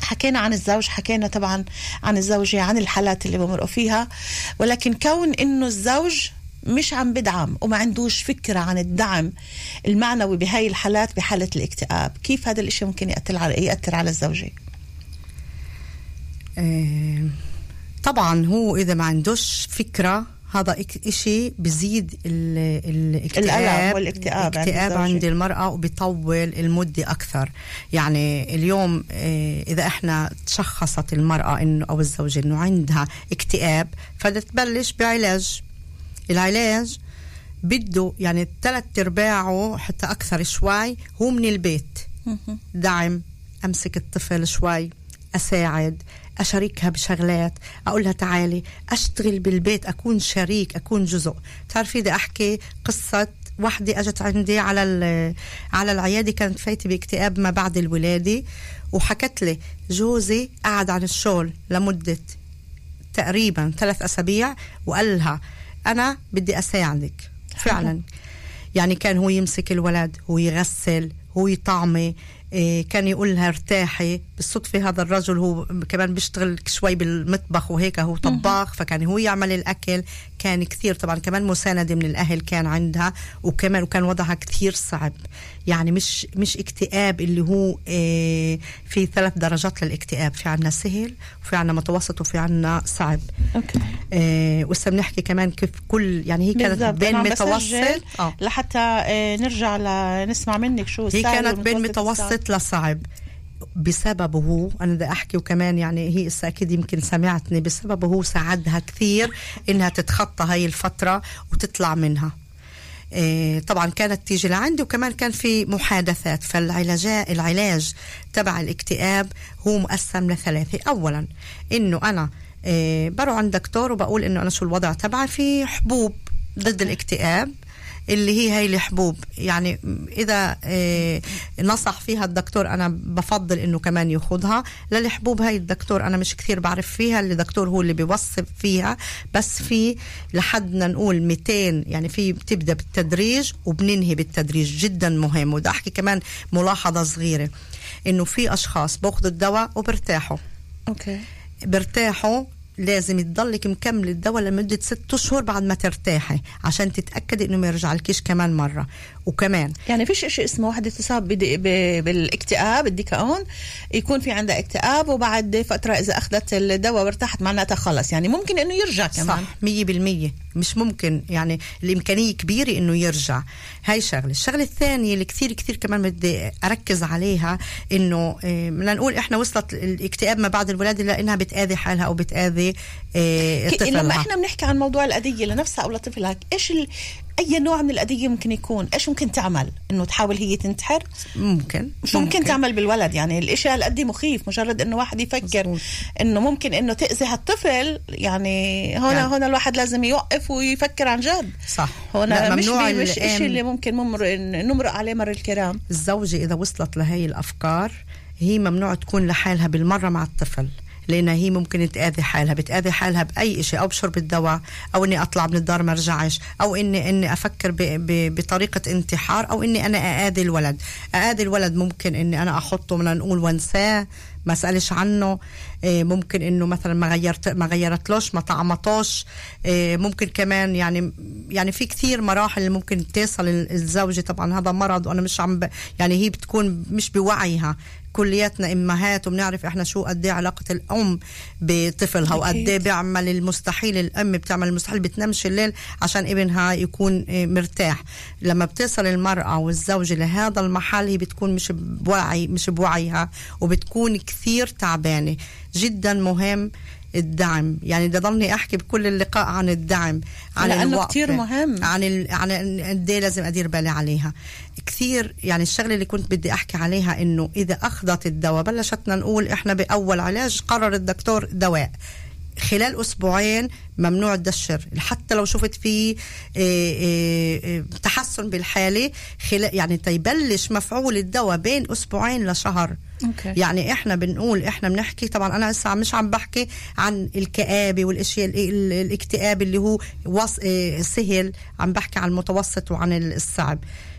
حكينا عن الزوج، حكينا طبعا عن الزوجة، عن الحالات اللي بمرقوا فيها، ولكن كون إنه الزوج مش عم بدعم وما عندوش فكرة عن الدعم المعنوي بهاي الحالات، بحالة الاكتئاب، كيف هذا الاشي ممكن يأثر على يأثر على الزوجة؟ اه طبعا هو إذا ما عندوش فكرة هذا إشي بزيد الاكتئاب والاكتئاب الاكتئاب عند, عند المرأة وبيطول المدة أكثر. يعني اليوم إذا إحنا تشخصت المرأة إنه أو الزوجة إنه عندها اكتئاب فتبلش بعلاج. العلاج بده يعني ثلاث أرباعه حتى أكثر شوي هو من البيت، دعم، أمسك الطفل شوي، أساعد، أشاركها بشغلات، أقولها تعالي أشتغل بالبيت، أكون شريك، أكون جزء. تعرفي بدي أحكي قصة واحدة أجت عندي على على العيادة، كانت فايتة باكتئاب ما بعد الولادة، وحكت لي جوزي قعد عن الشغل لمدة تقريبا ثلاث أسابيع وقال لها أنا بدي أساعدك فعلا. يعني كان هو يمسك الولد، هو يغسل، هو يطعمي، إيه كان يقول لها ارتاحي. بالصدفة هذا الرجل هو كمان بيشتغل شوي بالمطبخ وهيك، هو طباخ، فكان هو يعمل الأكل. كان كثير طبعا كمان مساندة من الأهل كان عندها، وكمان وكان وضعها كثير صعب. يعني مش مش اكتئاب اللي هو إيه في ثلاث درجات للاكتئاب، في عنا سهل وفي عنا متوسط وفي عنا صعب. أوكي. إيه وإسا بنحكي كمان كيف كل يعني هي كانت بين متوسط آه. لحتى إيه نرجع لنسمع منك شو هي كانت بين متوسط لصعب بسببه هو. أنا بدي أحكي وكمان يعني هي أكيد يمكن سمعتني، بسببه هو ساعدها كثير إنها تتخطى هاي الفترة وتطلع منها. إيه طبعا كانت تيجي لعندي، وكمان كان في محادثات. فالعلاج العلاج تبع الاكتئاب هو مقسم لثلاثة. أولا إنه أنا إيه بروح عند دكتور وبقول إنه أنا شو الوضع تبعي، في حبوب ضد الاكتئاب اللي هي هاي الحبوب. يعني إذا إيه نصح فيها الدكتور أنا بفضل إنه كمان ياخدها. للحبوب هاي الدكتور أنا مش كثير بعرف فيها، اللي دكتور هو اللي بيوصف فيها، بس في لحدنا نقول مئتين، يعني في بتبدأ بالتدريج وبننهي بالتدريج، جدا مهم. وده أحكي كمان ملاحظة صغيرة، إنه في أشخاص بأخذوا الدواء وبرتاحوا. أوكي. برتاحوا لازم تضلك مكمل الدواء لمدة ست أشهر بعد ما ترتاحي، عشان تتأكد إنه ما يرجع لكيش كمان مرة. وكمان يعني فيش إشي اسمه واحدة تصاب بالاكتئاب الديكاون يكون في عندها اكتئاب وبعد فترة إذا أخذت الدواء وارتاحت معناتها خلص. يعني ممكن إنه يرجع كمان. صح، مية بالمية مش ممكن، يعني الإمكانية كبيرة إنه يرجع. هاي شغلة. الشغلة الثانية اللي كثير كثير كمان بدي أركز عليها، إنه بدنا نقول إحنا وصلت الاكتئاب ما بعد الولادة لأنها بتآذي حالها أو بتآذي إيه طفلها. لما إحنا بنحكي عن موضوع الأذية لنفسها أو لطفلها، إيش ال... أي نوع من الأذية ممكن يكون؟ إيش ممكن تعمل؟ إنه تحاول هي تنتحر؟ ممكن. شو ممكن, ممكن تعمل بالولد؟ يعني الإشي هالقد مخيف، مجرد إنه واحد يفكر مصبوط. إنه ممكن إنه تأذي هالطفل. يعني هنا يعني. هنا الواحد لازم يوقف ويفكر عن جد. صح. هنا مش مش إشي اللي ممكن ممر نمرق عليه مر الكرام. الزوجة إذا وصلت لهي الأفكار هي ممنوع تكون لحالها بالمرة مع الطفل، لأنها هي ممكن تآذي حالها، بتآذي حالها بأي شيء، أو بشرب الدواء، أو إني أطلع من الدار ما رجعش، أو إني إني أفكر ب ب بطريقة انتحار، أو إني أنا أآذي الولد. أآذي الولد ممكن إني أنا أحطه من نقول وانساه، ما أسألش عنه. إيه ممكن إنه مثلا ما غيرت ما غيرتلوش، ما طعمتوش. إيه ممكن كمان يعني يعني في كثير مراحل اللي ممكن تصل الزوجة. طبعا هذا مرض وأنا مش عم ب يعني هي بتكون مش بوعيها. كلياتنا امهات وبنعرف احنا شو قد ايه علاقه الام بطفلها، وقد ايه بيعمل المستحيل. الام بتعمل المستحيل، بتنامش الليل عشان ابنها يكون مرتاح. لما بتصل المراه والزوجه لهذا المحل هي بتكون مش بوعي مش بوعيها وبتكون كثير تعبانه. جدا مهم الدعم. يعني بدي ضلني احكي بكل اللقاء عن الدعم، عن لانه كثير مهم، عن ال... عن قد ايه لازم ادير بالي عليها كثير. يعني الشغله اللي كنت بدي احكي عليها انه اذا اخذت الدواء، بلشتنا نقول احنا باول علاج قرر الدكتور دواء، خلال أسبوعين ممنوع تدشر. حتى لو شفت فيه تحسن بالحالة، يعني تيبلش مفعول الدواء بين أسبوعين لشهر. أوكي. يعني إحنا بنقول إحنا بنحكي، طبعا أنا لسه مش عم بحكي عن الكآبة والأشياء الاكتئاب اللي هو وص... سهل، عم بحكي عن المتوسط وعن الصعب.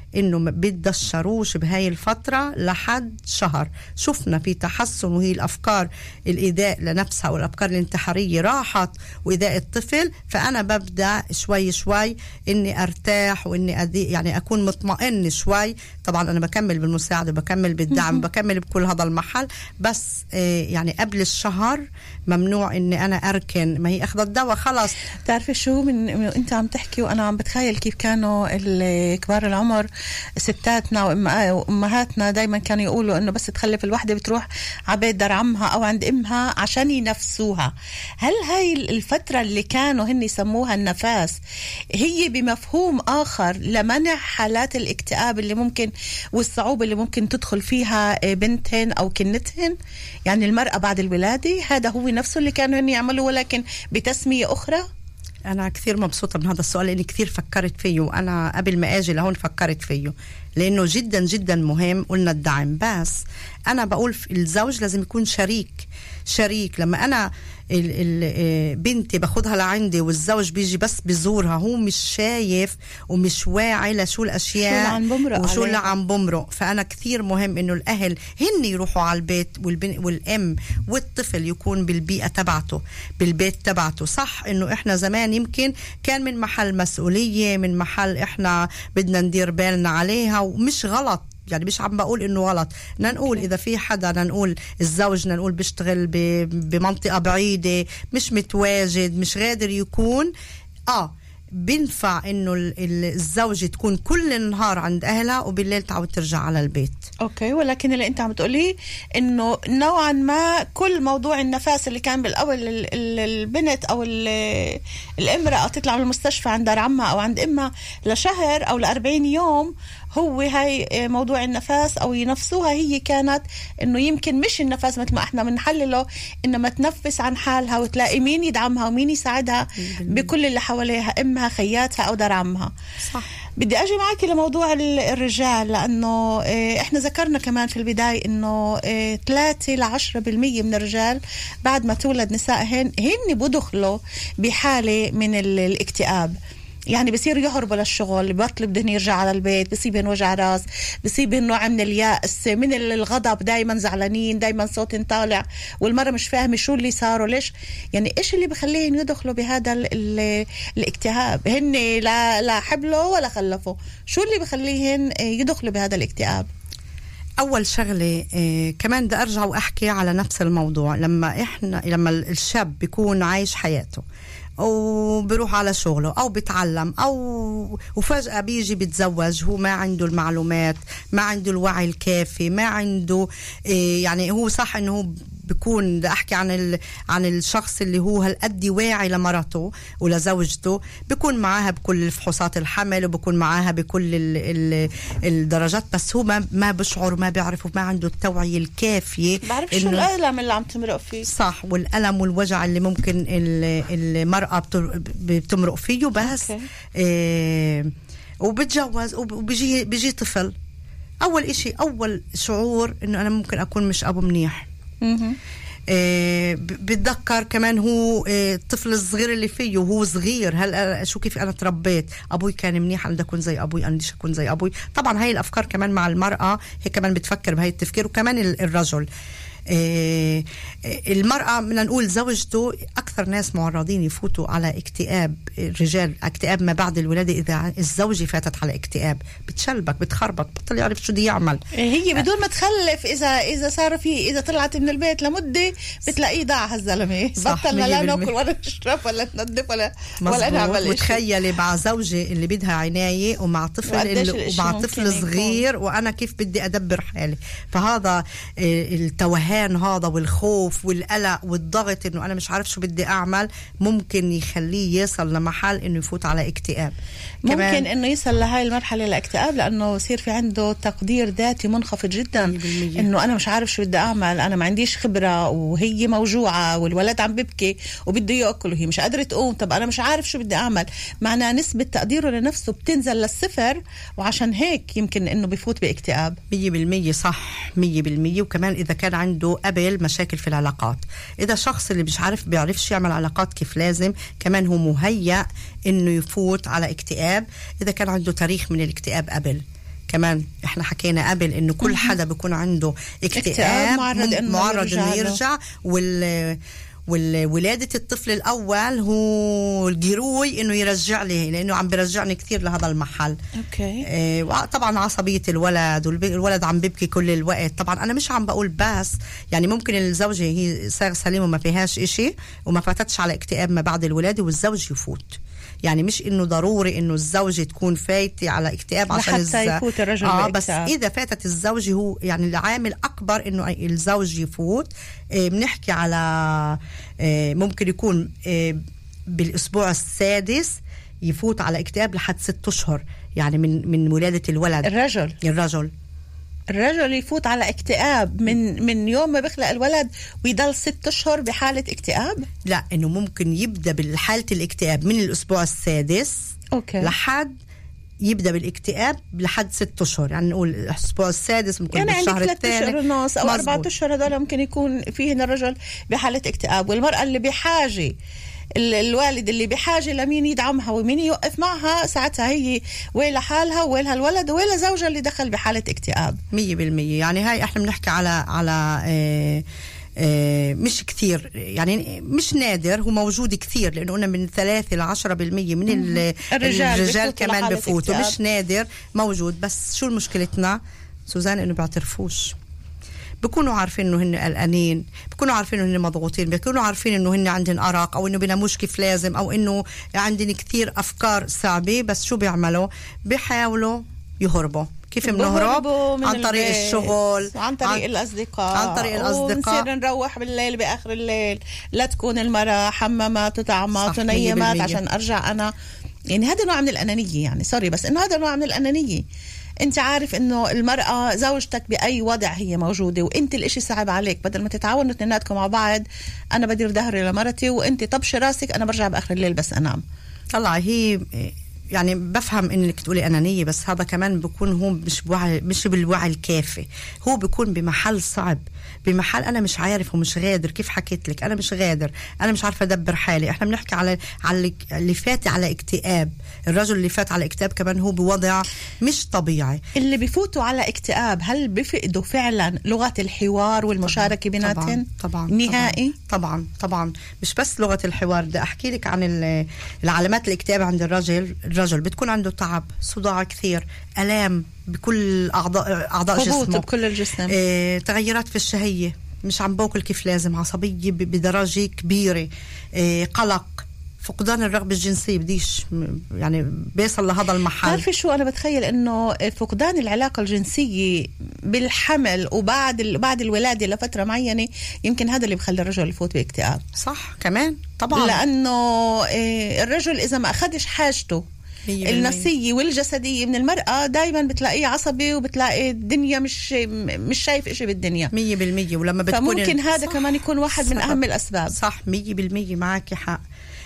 انه ما بتدشروش بهاي الفترة لحد شهر. شفنا في تحسن، وهي الافكار الايذاء لنفسها والافكار الانتحارية راحت وايذاء الطفل. فانا ببدأ شوي شوي اني ارتاح واني أدي يعني اكون مطمئن شوي. طبعا انا بكمل بالمساعدة، بكمل بالدعم، بكمل بكل هذا المحل، بس آه يعني قبل الشهر ممنوع اني انا اركن. ما هي اخذ الدواء خلاص. تعرفي شو، من, من انت عم تحكي وانا عم بتخيل كيف كانوا كبار العمر ستاتنا وامهاتنا دايما كانوا يقولوا انه بس تخلف الوحده بتروح على بيت دار عمها او عند امها عشان ينفسوها. هل هاي الفتره اللي كانوا هن يسموها النفاس هي بمفهوم اخر لمنع حالات الاكتئاب اللي ممكن والصعوبه اللي ممكن تدخل فيها بنتهن او كنتهن؟ يعني المراه بعد الولاده هذا هو نفسه اللي كانوا هن يعملوا ولكن بتسميه اخرى؟ أنا كثير مبسوطة من هذا السؤال لأني كثير فكرت فيه، وأنا قبل ما أجي لهون فكرت فيه لأنه جدا جدا مهم. قلنا الدعم، بس أنا بقول الزوج لازم يكون شريك. شريك لما أنا ال ال بنتي باخدها لعندي والزوج بيجي بس بزورها، هو مش شايف ومش واعي لشو الأشياء وشو اللي عم بمرق. فأنا كثير مهم إنه الأهل هن يروحوا على البيت والبن والأم والطفل يكون بالبيئة تبعته، بالبيت تبعته. صح إنه إحنا زمان يمكن كان من محل مسؤولية، من محل إحنا بدنا ندير بالنا عليها، ومش غلط يعني، مش عم بقول انه غلط. نقول اذا في حدا، نقول الزوج نقول بيشتغل بمنطقة بعيدة، مش متواجد، مش قادر يكون، اه بينفع انه الزوجة تكون كل النهار عند اهلها وبالليل تعود ترجع على البيت. اوكي، ولكن اللي انت عم تقوليه انه نوعا ما كل موضوع النفاس اللي كان بالاول البنت او الامرأة تطلع من المستشفى عند دار عمها او عند امها لشهر او لأربعين يوم، هو هاي موضوع النفاس او ينفسوها. هي كانت انه يمكن مش النفاس مثل ما احنا بنحلله، انما تنفس عن حالها وتلاقي مين يدعمها ومين يساعدها بكل اللي حواليها، امها، خياتها او دار عمها. صح. بدي اجي معك لموضوع الرجال، لانه احنا ذكرنا كمان في البداية انه ثلاثة لعشرة بالمية من الرجال بعد ما تولد نسائهن هن بدخلوا بحالة من الاكتئاب. يعني بصير يهربوا للشغل، بطل بدهن يرجع على البيت، بصيبهن وجع راس، بصيبهن نوع من اليأس، من الغضب، دايما زعلانين، دايما صوت طالع، والمرة مش فاهمة شو اللي صاروا ليش. يعني ايش اللي بخليهن يدخلوا بهذا ال ال الاكتئاب؟ هن لا لا حبلوا ولا خلفوا، شو اللي بخليهن يدخلوا بهذا الاكتئاب؟ أول شغلة إيه كمان بدي أرجع وأحكي على نفس الموضوع. لما إحنا لما الشاب بيكون عايش حياته أو بيروح على شغله أو بيتعلم أو وفجأة بيجي بيتزوج، هو ما عنده المعلومات، ما عنده الوعي الكافي، ما عنده إيه يعني هو صح إنه هو بيكون، بدي أحكي عن ال... عن الشخص اللي هو هالقد واعي لمرته ولزوجته، بيكون معاها بكل فحوصات الحمل وبيكون معاها بكل ال... ال... الدرجات، بس هو ما ما بشعر وما بيعرف وما عنده التوعية الكافية. بعرف شو الألم اللي عم تمرق فيه. صح، والألم والوجع اللي ممكن المرأة بتمرق فيه. بس إيه وبتجوز وبيجي بيجي طفل، أول إشي أول شعور إنه أنا ممكن أكون مش أبو منيح. آه بتذكر كمان هو آه الطفل الصغير اللي فيه وهو صغير، هل شو كيف انا تربيت، ابوي كان منيح، انا بدي اكون زي ابوي، انا بدي اكون زي ابوي. طبعا هاي الافكار كمان مع المراه هي كمان بتفكر بهاي التفكير، وكمان الرجل. آه المرأة بدنا نقول زوجته أكثر ناس معرضين يفوتوا على اكتئاب. الرجال اكتئاب ما بعد الولادة، إذا الزوجة فاتت على اكتئاب بتشلبك، بتخربط، بطل يعرف شو دي يعمل. هي بدون ما تخلف، إذا إذا صار في إذا طلعت من البيت لمدة بتلاقيه ضاع هالزلمة، بطلنا لا ناكل ولا نشرب ولا ننظف ولا ولا نعمل شيء. وتخيلي مع زوجة اللي بدها عناية ومع طفل اللي ومع طفل صغير يكون. وأنا كيف بدي أدبر حالي. فهذا التوهان هذا والخوف والقلق والضغط انه انا مش عارف شو بدي اعمل ممكن يخليه يصل لمحل انه يفوت على اكتئاب. ممكن انه يصل لهاي المرحله الاكتئاب لانه يصير في عنده تقدير ذاتي منخفض جدا، انه انا مش عارف شو بدي اعمل، انا ما عنديش خبره وهي موجوعه والولد عم ببكي وبده ياكل وهي مش قادره تقوم، طب انا مش عارف شو بدي اعمل. معناه نسبه تقديره لنفسه بتنزل للصفر، وعشان هيك يمكن انه بيفوت باكتئاب. مية بالمية صح، مية بالمية. وكمان اذا كان عنده قبل مشاكل في العلاقات، إذا شخص اللي مش عارف بيعرفش يعمل علاقات كيف لازم، كمان هو مهيأ إنه يفوت على اكتئاب. إذا كان عنده تاريخ من الاكتئاب قبل، كمان احنا حكينا قبل انه كل حدا بيكون عنده اكتئاب معرض انه معرض انه يرجع. وال والولادة الطفل الأول هو الجروي إنه يرجع لي، لأنه عم بيرجعني كثير لهذا المحل. أوكي. إيه طبعا عصبية الولد، والولد عم بيبكي كل الوقت. طبعا أنا مش عم بقول بس يعني ممكن الزوجة هي صار سليمة وما فيهاش إشي وما فاتتش على اكتئاب ما بعد الولادة والزوج يفوت. يعني مش إنه ضروري إنه الزوجة تكون فايتة على اكتئاب عشان الز... يفوت الرجل آه بس إذا فاتت الزوجة هو يعني العامل أكبر إنه الزوج يفوت. إيه بنحكي على إيه ممكن يكون إيه بالأسبوع السادس يفوت على اكتئاب لحد ست أشهر يعني من من ولادة الولد. الرجل الرجل الرجل يفوت على اكتئاب من من يوم ما بخلق الولد ويضل ست اشهر بحالة اكتئاب. لا انه ممكن يبدا بالحالة الاكتئاب من الاسبوع السادس أوكي. لحد يبدا بالاكتئاب لحد ست اشهر. يعني نقول الاسبوع السادس ممكن يعني بالشهر الثاني يعني ثلاث اشهر ونص او اربعة اشهر هذول ممكن يكون فيهن الرجل بحالة اكتئاب، والمرأة اللي بحاجة الوالد اللي بحاجة لمين يدعمها ومين يوقف معها ساعتها هي ويلها حالها ويلها الولد ويلها زوجها اللي دخل بحالة اكتئاب. مية بالمية. يعني هاي احنا بنحكي على على اه اه مش كثير، يعني مش نادر، هو موجود كثير لأنه قلنا من ثلاثة لعشرة بالمية من الرجال, الرجال كمان بفوتوا. مش نادر موجود. بس شو المشكلتنا سوزان؟ إنه بيعترفوش. بيكونوا عارفين انه هن قلقانين، بيكونوا عارفين انه هن مضغوطين، بيكونوا عارفين انه هن عندهم ارق او انه بيناموش كيف لازم او انه عندهم كثير افكار صعبه. بس شو بيعملوا؟ بيحاولوا يهربوا. كيف بنهرب؟ عن طريق الشغل، عن طريق عن الأصدقاء عن طريق الأصدقاء ونصير نروح بالليل بآخر الليل لا تكون المرأة حمامات وطعمات ونيمات عشان أرجع أنا. يعني هذا نوع من الأنانية، يعني سوري بس إنه هذا نوع من الأنانية. انت عارف انه المرأة زوجتك بأي وضع هي موجودة وانت الاشي صعب عليك، بدل ما تتعاونوا اثنيناتكم مع بعض انا بدير ظهري لمرتي وانت طبشي راسك انا برجع بآخر الليل بس انام. طلع هي يعني بفهم انك تقولي انانيه، بس هذا كمان بيكون هو مش بوعي، مش بالوعي الكافي. هو بيكون بمحل صعب، بمحل انا مش عارف ومش غادر. كيف حكيت لك انا مش غادر، انا مش عارفه ادبر حالي. احنا بنحكي على على اللي فات على اكتئاب. الرجل اللي فات على اكتئاب كمان هو بوضع مش طبيعي. اللي بيفوتوا على اكتئاب هل بيفقدوا فعلا لغه الحوار والمشاركه بيناتهم؟ طبعا نهائي. طبعا طبعا مش بس لغه الحوار. بدي احكي لك عن العلامات الاكتئاب عند الرجل. الرجل بتكون عنده تعب، صداع كثير، الام بكل اعضاء اعضاء جسمه، بكل الجسم، اه، تغيرات في الشهيه، مش عم باكل كيف لازم، عصبيه بدرجه كبيره، اه، قلق، فقدان الرغبة الجنسية. بديش يعني بيصل لهذا المحل. تعرفي شو أنا بتخيل إنه فقدان العلاقة الجنسية بالحمل وبعد ال... بعد الولادة لفترة معينة يمكن هذا اللي بخلي الرجل يفوت باكتئاب. صح كمان طبعا، لأنه الرجل إذا ما أخدش حاجته النفسية والجسدية من المرأة دايما بتلاقيه عصبي وبتلاقي الدنيا مش مش شايف إشي بالدنيا مية بالمية. ولما بتكون فممكن هذا كمان يكون واحد صح. من أهم الأسباب. صح مية بالمية معك حق.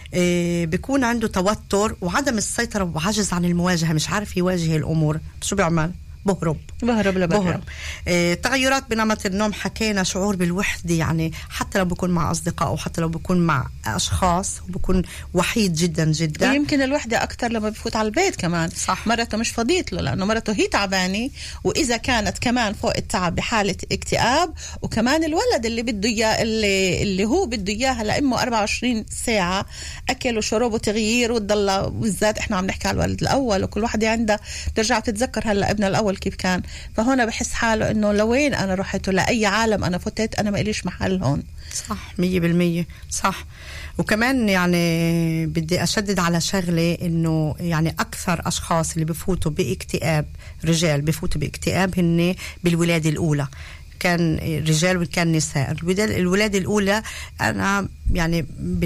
إيه بيكون عنده توتر وعدم السيطرة وعجز عن المواجهة، مش عارف يواجه الأمور. شو بيعمل؟ بهرب بهرب لبهرب. إيه تغيرات بنمط النوم، حكينا، شعور بالوحدة، يعني حتى لو بيكون مع أصدقاء وحتى لو بيكون مع أشخاص وبيكون وحيد جدا جدا. ويمكن الوحدة أكتر لما بفوت على البيت كمان. صح. مرته مش فضيت له لأنه مرته هي تعبانة، وإذا كانت كمان فوق التعب بحالة اكتئاب، وكمان الولد اللي بده إياه اللي, اللي هو بده إياها لأمه أربعة وعشرين ساعة أكل وشرب وتغيير وتضل. بالذات إحنا عم نحكي على الولد الأول وكل واحدة عندها ترجع تتذكر هلا ابنها الأول كيف كان. فهنا بحس حاله إنه لوين أنا رحت لأي عالم أنا فتت، أنا ما إليش محل هون. صح مية بالمية صح. وكمان يعني بدي أشدد على شغلة إنه يعني أكثر أشخاص اللي بفوتوا باكتئاب، رجال بفوتوا باكتئاب هن بالولادة الأولى، كان رجال وكان نساء. الولادة الأولى أنا يعني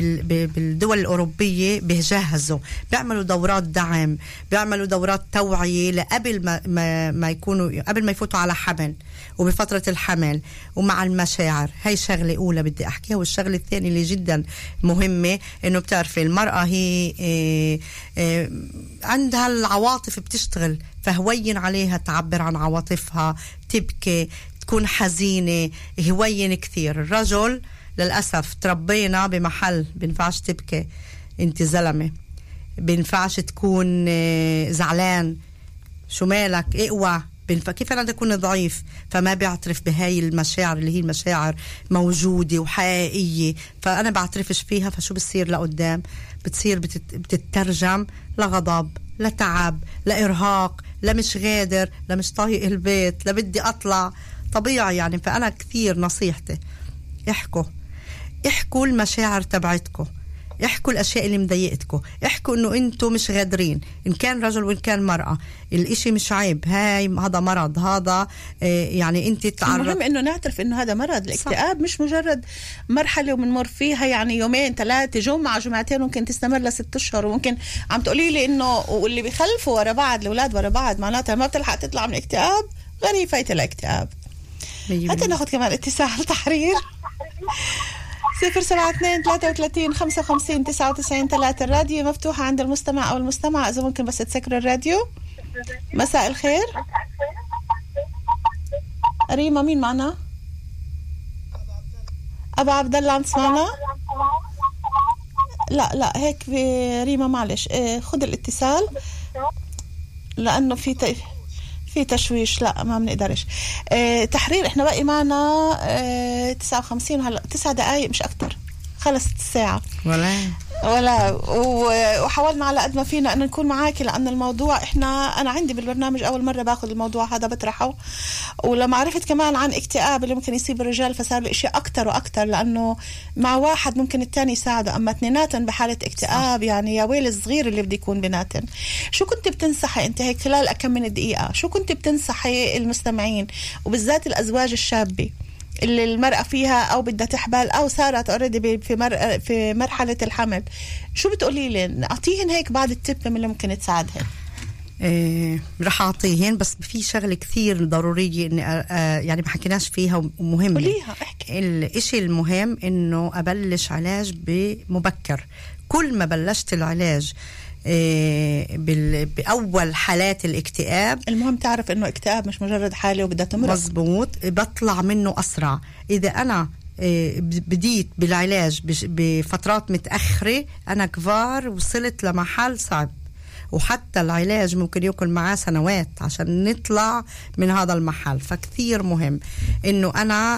بالدول الأوروبية بيجهزوا، بيعملوا دورات دعم، بيعملوا دورات توعية لقبل ما, ما, ما يكونوا قبل ما يفوتوا على حمل وبفترة الحمل ومع المشاعر. هاي شغلة أولى بدي أحكيها. والشغلة الثانية اللي جدا مهمة إنه بتعرفي المرأة هي إيه إيه عندها العواطف بتشتغل، فهوين عليها تعبر عن عواطفها، تبكي، تكون حزينة، هوين كثير. الرجل للأسف تربينا بمحل بينفعش تبكي، انت زلمة، بينفعش تكون زعلان، شو مالك اقوى، كيف أنا أكون ضعيف؟ فما بيعترف بهاي المشاعر اللي هي المشاعر موجودة وحقيقية، فأنا بعترفش فيها. فشو بتصير لقدام؟ بتصير بتت... بتترجم لغضب، لتعب، لإرهاق، لمش غادر، لمش طايق البيت، لبدي أطلع طبيعي يعني. فأنا كثير نصيحتي احكوا احكوا المشاعر تبعتكم، احكوا الاشياء اللي مضايقتكم، احكوا انه انتم مش غادرين، ان كان رجل وان كان مرأة. الاشي مش عيب، هاي هذا مرض، هذا اه يعني انت تعرف. المهم انه نعترف انه هذا مرض. الاكتئاب صح. مش مجرد مرحله وبنمر فيها يعني يومين ثلاثه، جمعه جمعتين، ممكن تستمر لست اشهر. وممكن عم تقولي لي انه واللي بيخلفوا ورا بعض الاولاد ورا بعض معناتها ما بتلحق تطلع من اكتئاب، غريب فايت الاكتئاب. حتى ناخذ كمان اتصال. تحرير صفر سبعة اثنين ثلاثة وثلاثين خمسة وخمسين تسعة وتسعين ثلاثة. الراديو مفتوحة عند المستمع أو المستمع، إذا ممكن بس تسكر الراديو. مساء الخير ريما، مين معنا؟ أبا عبد الله عم تسمعنا؟ لا لا هيك ريما معلش خد الاتصال لأنه في ت... في تشويش، لا ما بنقدرش. اه تحرير احنا باقي معنا اه تسعة وخمسين هلا تسع دقائق مش اكتر، خلصت الساعة ولا ولا وحاولنا على قد ما فينا ان نكون معاكي، لان الموضوع احنا انا عندي بالبرنامج اول مرة باخذ الموضوع هذا بطرحه، ولما عرفت كمان عن اكتئاب اللي ممكن يصيب الرجال فصار لي اشياء اكتر واكتر، لانه مع واحد ممكن الثاني يساعده، اما اثنيناتن بحالة اكتئاب يعني يا ويل الصغير اللي بده يكون بيناتن. شو كنت بتنصحي انت هيك خلال كم من دقيقة، شو كنت بتنصحي المستمعين وبالذات الازواج الشابة اللي المرأة فيها أو بدها تحبل أو صارت أوريدي في مر... في مرحلة الحمل، شو بتقولي لي؟ أعطيهن هيك بعض التب من اللي ممكن تساعدهن. إيه رح أعطيهن، بس في شغلة كثير ضرورية إني آه يعني ما حكيناش فيها ومهمة. قوليها احكي. الإشي المهم إنه أبلش علاج بمبكر. كل ما بلشت العلاج إيه بأول حالات الاكتئاب، المهم تعرف إنه اكتئاب مش مجرد حالة وبدها تمرض. مزبوط، بطلع منه أسرع. إذا أنا إيه بديت بالعلاج بفترات متأخرة أنا كبار وصلت لمحل صعب، وحتى العلاج ممكن يكون معاه سنوات عشان نطلع من هذا المحل. فكثير مهم انه انا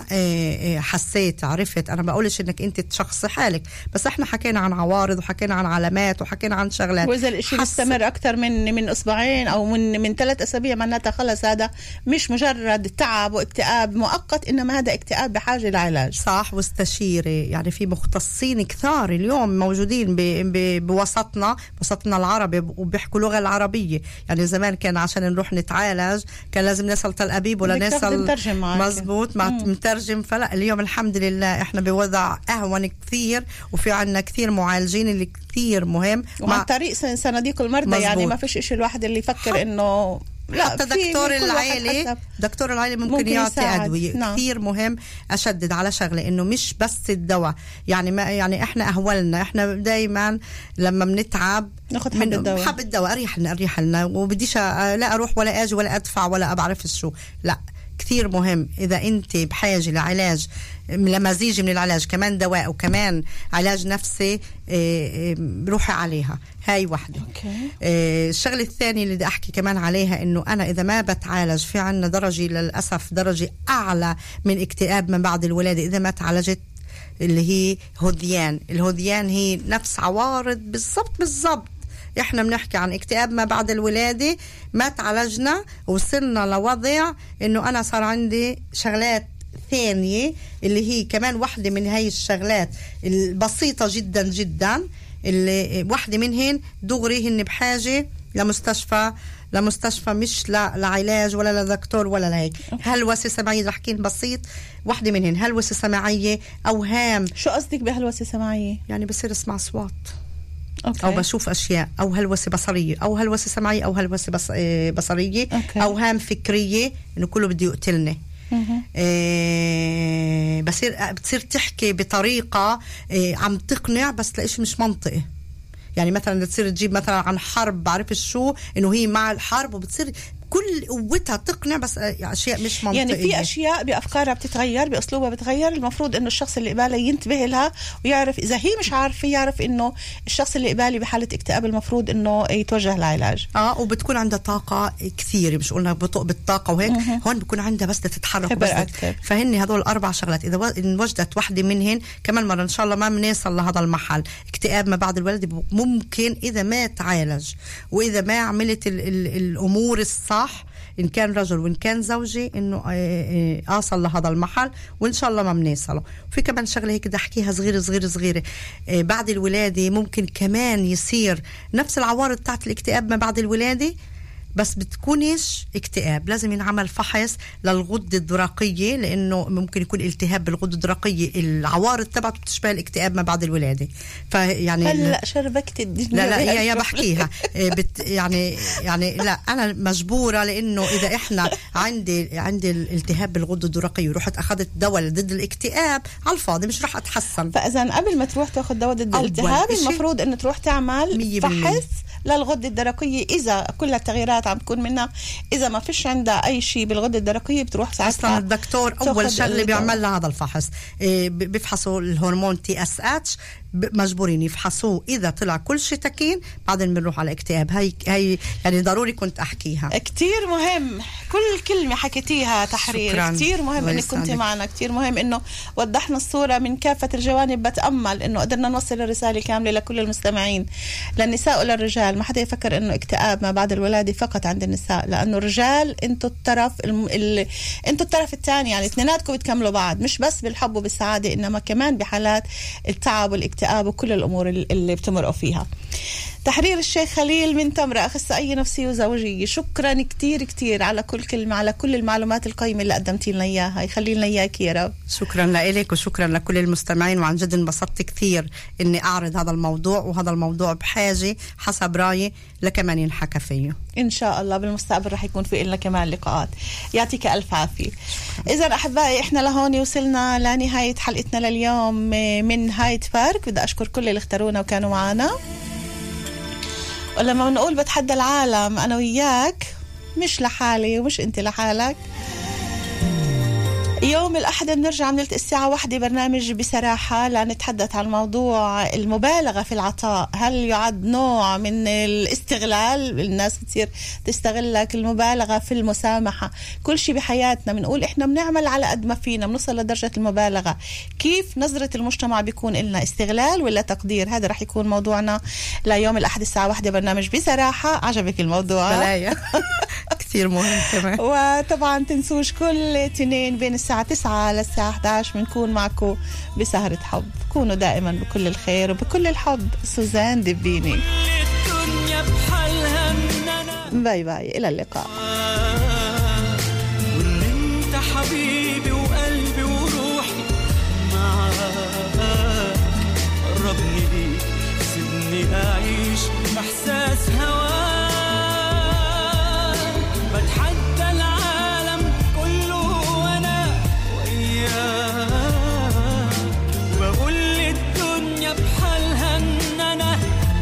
حسيت عرفت. انا بقولش انك انت تشخصي حالك، بس احنا حكينا عن عوارض وحكينا عن علامات وحكينا عن شغلات. واذا الاشي بيستمر اكثر من من اسبوعين او من من ثلاث اسابيع معناتها خلص هذا مش مجرد تعب واكتئاب مؤقت، انما هذا اكتئاب بحاجه لعلاج. صح. واستشيري يعني في مختصين كثار اليوم موجودين بوسطنا بوسطنا العربي وبيحكوا لغة العربية. يعني زمان كان عشان نروح نتعالج كان لازم نسأل تل أبيب ولا نسأل مزبوط مع مترجم. فلا اليوم الحمد لله احنا بوضع أهون كثير، وفي عنا كثير معالجين اللي كثير مهم وعن طريق صناديق المرضى. مزبوط. يعني ما فيش إشي الواحد اللي يفكر إنه لا، حتى دكتور العائلة دكتور العائلة ممكن, ممكن يعطي أدوية. نعم. كثير مهم أشدد على شغلة إنه مش بس الدواء. يعني ما يعني إحنا أهولنا إحنا دايما لما بنتعب ناخد حب الدواء، حب الدواء أريح لنا أريح لنا وبديش لا أروح ولا أجي ولا أدفع ولا أبعرف شو. لا، كثير مهم إذا أنت بحاجة لعلاج لمزيج من العلاج كمان دواء وكمان علاج نفسي روحي عليها. هاي واحدة. الشغلة الثانية اللي بدي أحكي كمان عليها إنه أنا إذا ما بتعالج في عنا درجة للأسف درجة أعلى من اكتئاب من بعد الولادة إذا ما تعالجت، اللي هي هذيان. الهذيان هي نفس عوارض بالضبط بالضبط. احنا بنحكي عن اكتئاب ما بعد الولادة، ما تعالجنا وصلنا لوضع انه انا صار عندي شغلات ثانية اللي هي كمان واحدة من هاي الشغلات البسيطة جدا جدا اللي واحدة منهن دغري هن بحاجة لمستشفى لمستشفى مش لعلاج ولا لدكتور ولا لهيك. هلوسة سمعية رح احكي بسيط. واحدة منهن هلوسة سمعية، أوهام. شو قصدك بهلوسة سمعية؟ يعني بصير اسمع أصوات أوكي. أو بشوف أشياء، أو هلوسة بصرية أو هلوسة سمعية أو هلوسة بص... بصرية. أوكي. أوهام فكرية إنه كله بده يقتلني. إيه بصير بتصير تحكي بطريقة إيه عم تقنع بس تلاقيش مش منطقي. يعني مثلا تصير تجيب مثلا عن حرب بعرف شو إنه هي مع الحرب وبتصير كل قوتها تقنع، بس اشياء مش منطقيه. يعني في اشياء بافكارها بتتغير، باسلوبها بتغير، المفروض انه الشخص اللي قباله ينتبه لها ويعرف اذا هي مش عارفه، يعرف انه الشخص اللي قبالي بحاله اكتئاب المفروض انه يتوجه لعلاج. اه وبتكون عندها طاقه كثير، مش قلنا بطء بالطاقه وهيك، م- هون بيكون عندها بس تتحرك بس فهن هذول الاربع شغلات اذا وجدت وحده منهن كمان مره ان شاء الله ما بنوصل لهذا المحل. اكتئاب ما بعد الولاده ممكن اذا ما تعالج واذا ما عملت ال ال الامور الصح، إن كان رجل وإن كان زوجي، إنه أصل لهذا المحل وإن شاء الله ما بنوصله. في كمان شغلة هيك بدي أحكيها صغيرة صغيرة صغيرة، بعد الولادة ممكن كمان يصير نفس العوارض تاعت الاكتئاب ما بعد الولادة، بس بتكونش اكتئاب. لازم ينعمل فحص للغدة الدرقية، لأنه ممكن يكون التهاب بالغدة الدرقية، العوارض تبعته بتشبه الاكتئاب ما بعد الولادة. فيعني هلا شربكت الدنيا. لا لا يا, يا بحكيها بت يعني يعني لا أنا مجبورة، لأنه إذا إحنا عندي عندي الالتهاب بالغدة الدرقية ورحت أخذت دواء ضد الاكتئاب على الفاضي مش رح أتحسن. فإذا قبل ما تروح تأخذ دواء ضد الالتهاب المفروض إنه تروح تعمل فحص للغدة الدرقية. إذا كل التغييرات عم تكون منها، إذا ما فيش عندها أي شيء بالغدة الدرقية بتروح ساعتها أصلا الدكتور أول شغلة بيعمل لها هذا الفحص، إيه بيفحصوا الهرمون تي اس اتش، مجبورين يفحصوه. إذا طلع كل شيء تكين بعدين بنروح على اكتئاب. هاي هاي يعني ضروري كنت أحكيها، كتير مهم. كل كلمة حكيتيها تحرير شكراً. كتير مهم إنك كنت معنا، كتير مهم إنه وضحنا الصورة من كافة الجوانب. بتأمل إنه قدرنا نوصل الرسالة كاملة لكل المستمعين، للنساء وللرجال. ما حدا يفكر إنه اكتئاب ما بعد الولادة فقط عند النساء، لأنه الرجال أنتوا الطرف الم... ال... أنتوا الطرف الثاني، يعني اثنيناتكم بتكملوا بعض، مش بس بالحب وبالسعادة، إنما كمان بحالات التعب والاكتئاب وكل الأمور اللي بتمرقوا فيها. تحرير الشيخ خليل من تمرة، أخصائية نفسية وزوجية، شكرا كتير كتير على كل كلمة، على كل المعلومات القيمة اللي قدمتي لنا إياها. يخلي لنا إياك يا رب. شكرا لك وشكرا لكل المستمعين، وعن جد انبسطت كثير إني أعرض هذا الموضوع، وهذا الموضوع بحاجة حسب رأيي لكمان ينحكى فيه. إن شاء الله بالمستقبل رح يكون في لنا كمان لقاءات. يعطيك ألف عافية. إذا أحبائي إحنا لهون وصلنا لنهاية حلقتنا لليوم من هايد بارك. بدي أشكر كل اللي اختارونا وكانوا معنا. ولما نقول بتحدى العالم أنا وياك، مش لحالي ومش أنت لحالك. يوم الأحد بنرجع من الساعة واحدة برنامج بصراحة لنتحدث عن موضوع المبالغة في العطاء. هل يعد نوع من الاستغلال؟ الناس بتصير تستغلك. المبالغة في المسامحة. كل شيء بحياتنا بنقول إحنا بنعمل على قد ما فينا، بنوصل لدرجة المبالغة. كيف نظرة المجتمع بيكون إلنا؟ استغلال ولا تقدير؟ هذا رح يكون موضوعنا ليوم الأحد الساعة واحدة برنامج بصراحة. عجبك الموضوع؟ بلايا كثير مهم كمان. وطبعا تنسوش كل تنين بين الساعة تسعة للساعة أحد عشر بنكون معكم بسهرة حب. كونوا دائما بكل الخير وبكل الحب. سوزان دبيني. باي باي، إلى اللقاء. وإن أنت حبيبي وقلبي وروحي معاك، قربني ليك سيبني أعيش إحساس هواك. بتحدى العالم كله وأنا وياك، وبقول للدنيا بحالها إن أنا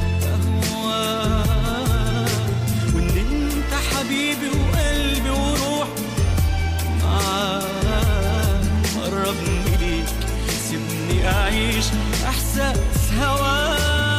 أهواك. وإن أنت حبيبي وقلبي وروحي معاك، قربني ليك سيبني أعيش إحساس هواك.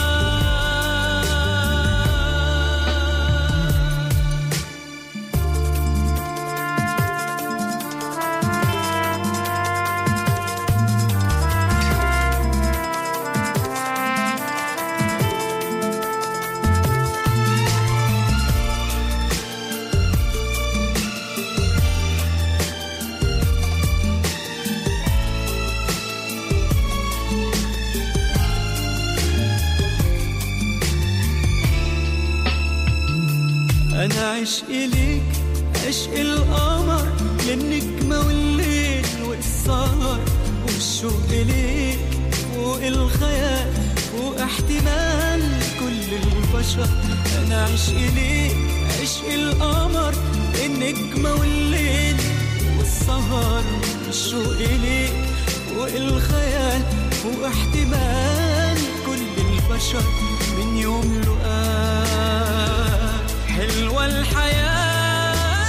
أنا عشقي ليك عشق القمر، للنجمة والليل والسهر، والشوق ليك فوق الخيال فوق احتمال كل البشر. أنا عشقي ليك عشق القمر، للنجمة والليل والسهر، والشوق ليك فوق الخيال فوق احتمال كل البشر. من يوم لقاك حلوة الحياة،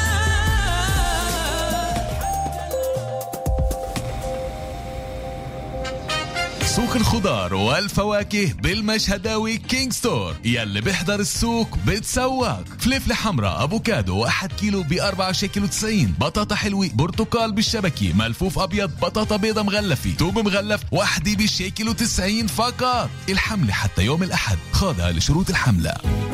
سوق الخضار والفواكه بالمشهداوي كينج ستور، يلي بيحضر السوق بتسوق. فلفلة حمراء افوكادو واحد كيلو بأربعة شيكل وتسعين، بطاطا حلوة برتقال بالشبكة، ملفوف ابيض، بطاطا بيضة مغلفة، توب مغلف وحدي بشيكل وتسعين فقط. الحملة حتى يوم الأحد، خاضها لشروط الحملة.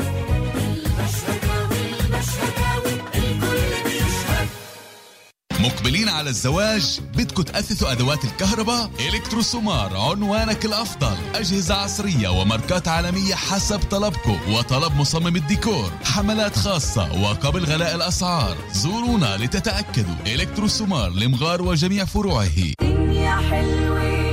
مقبلين على الزواج؟ بدكم تأثثوا أدوات الكهرباء؟ إلكتروسومار عنوانك الأفضل. أجهزة عصرية وماركات عالمية حسب طلبكم وطلب مصمم الديكور. حملات خاصة وقبل غلاء الأسعار. زورونا لتتأكدوا. إلكتروسومار لمغار وجميع فروعه. دنيا حلوة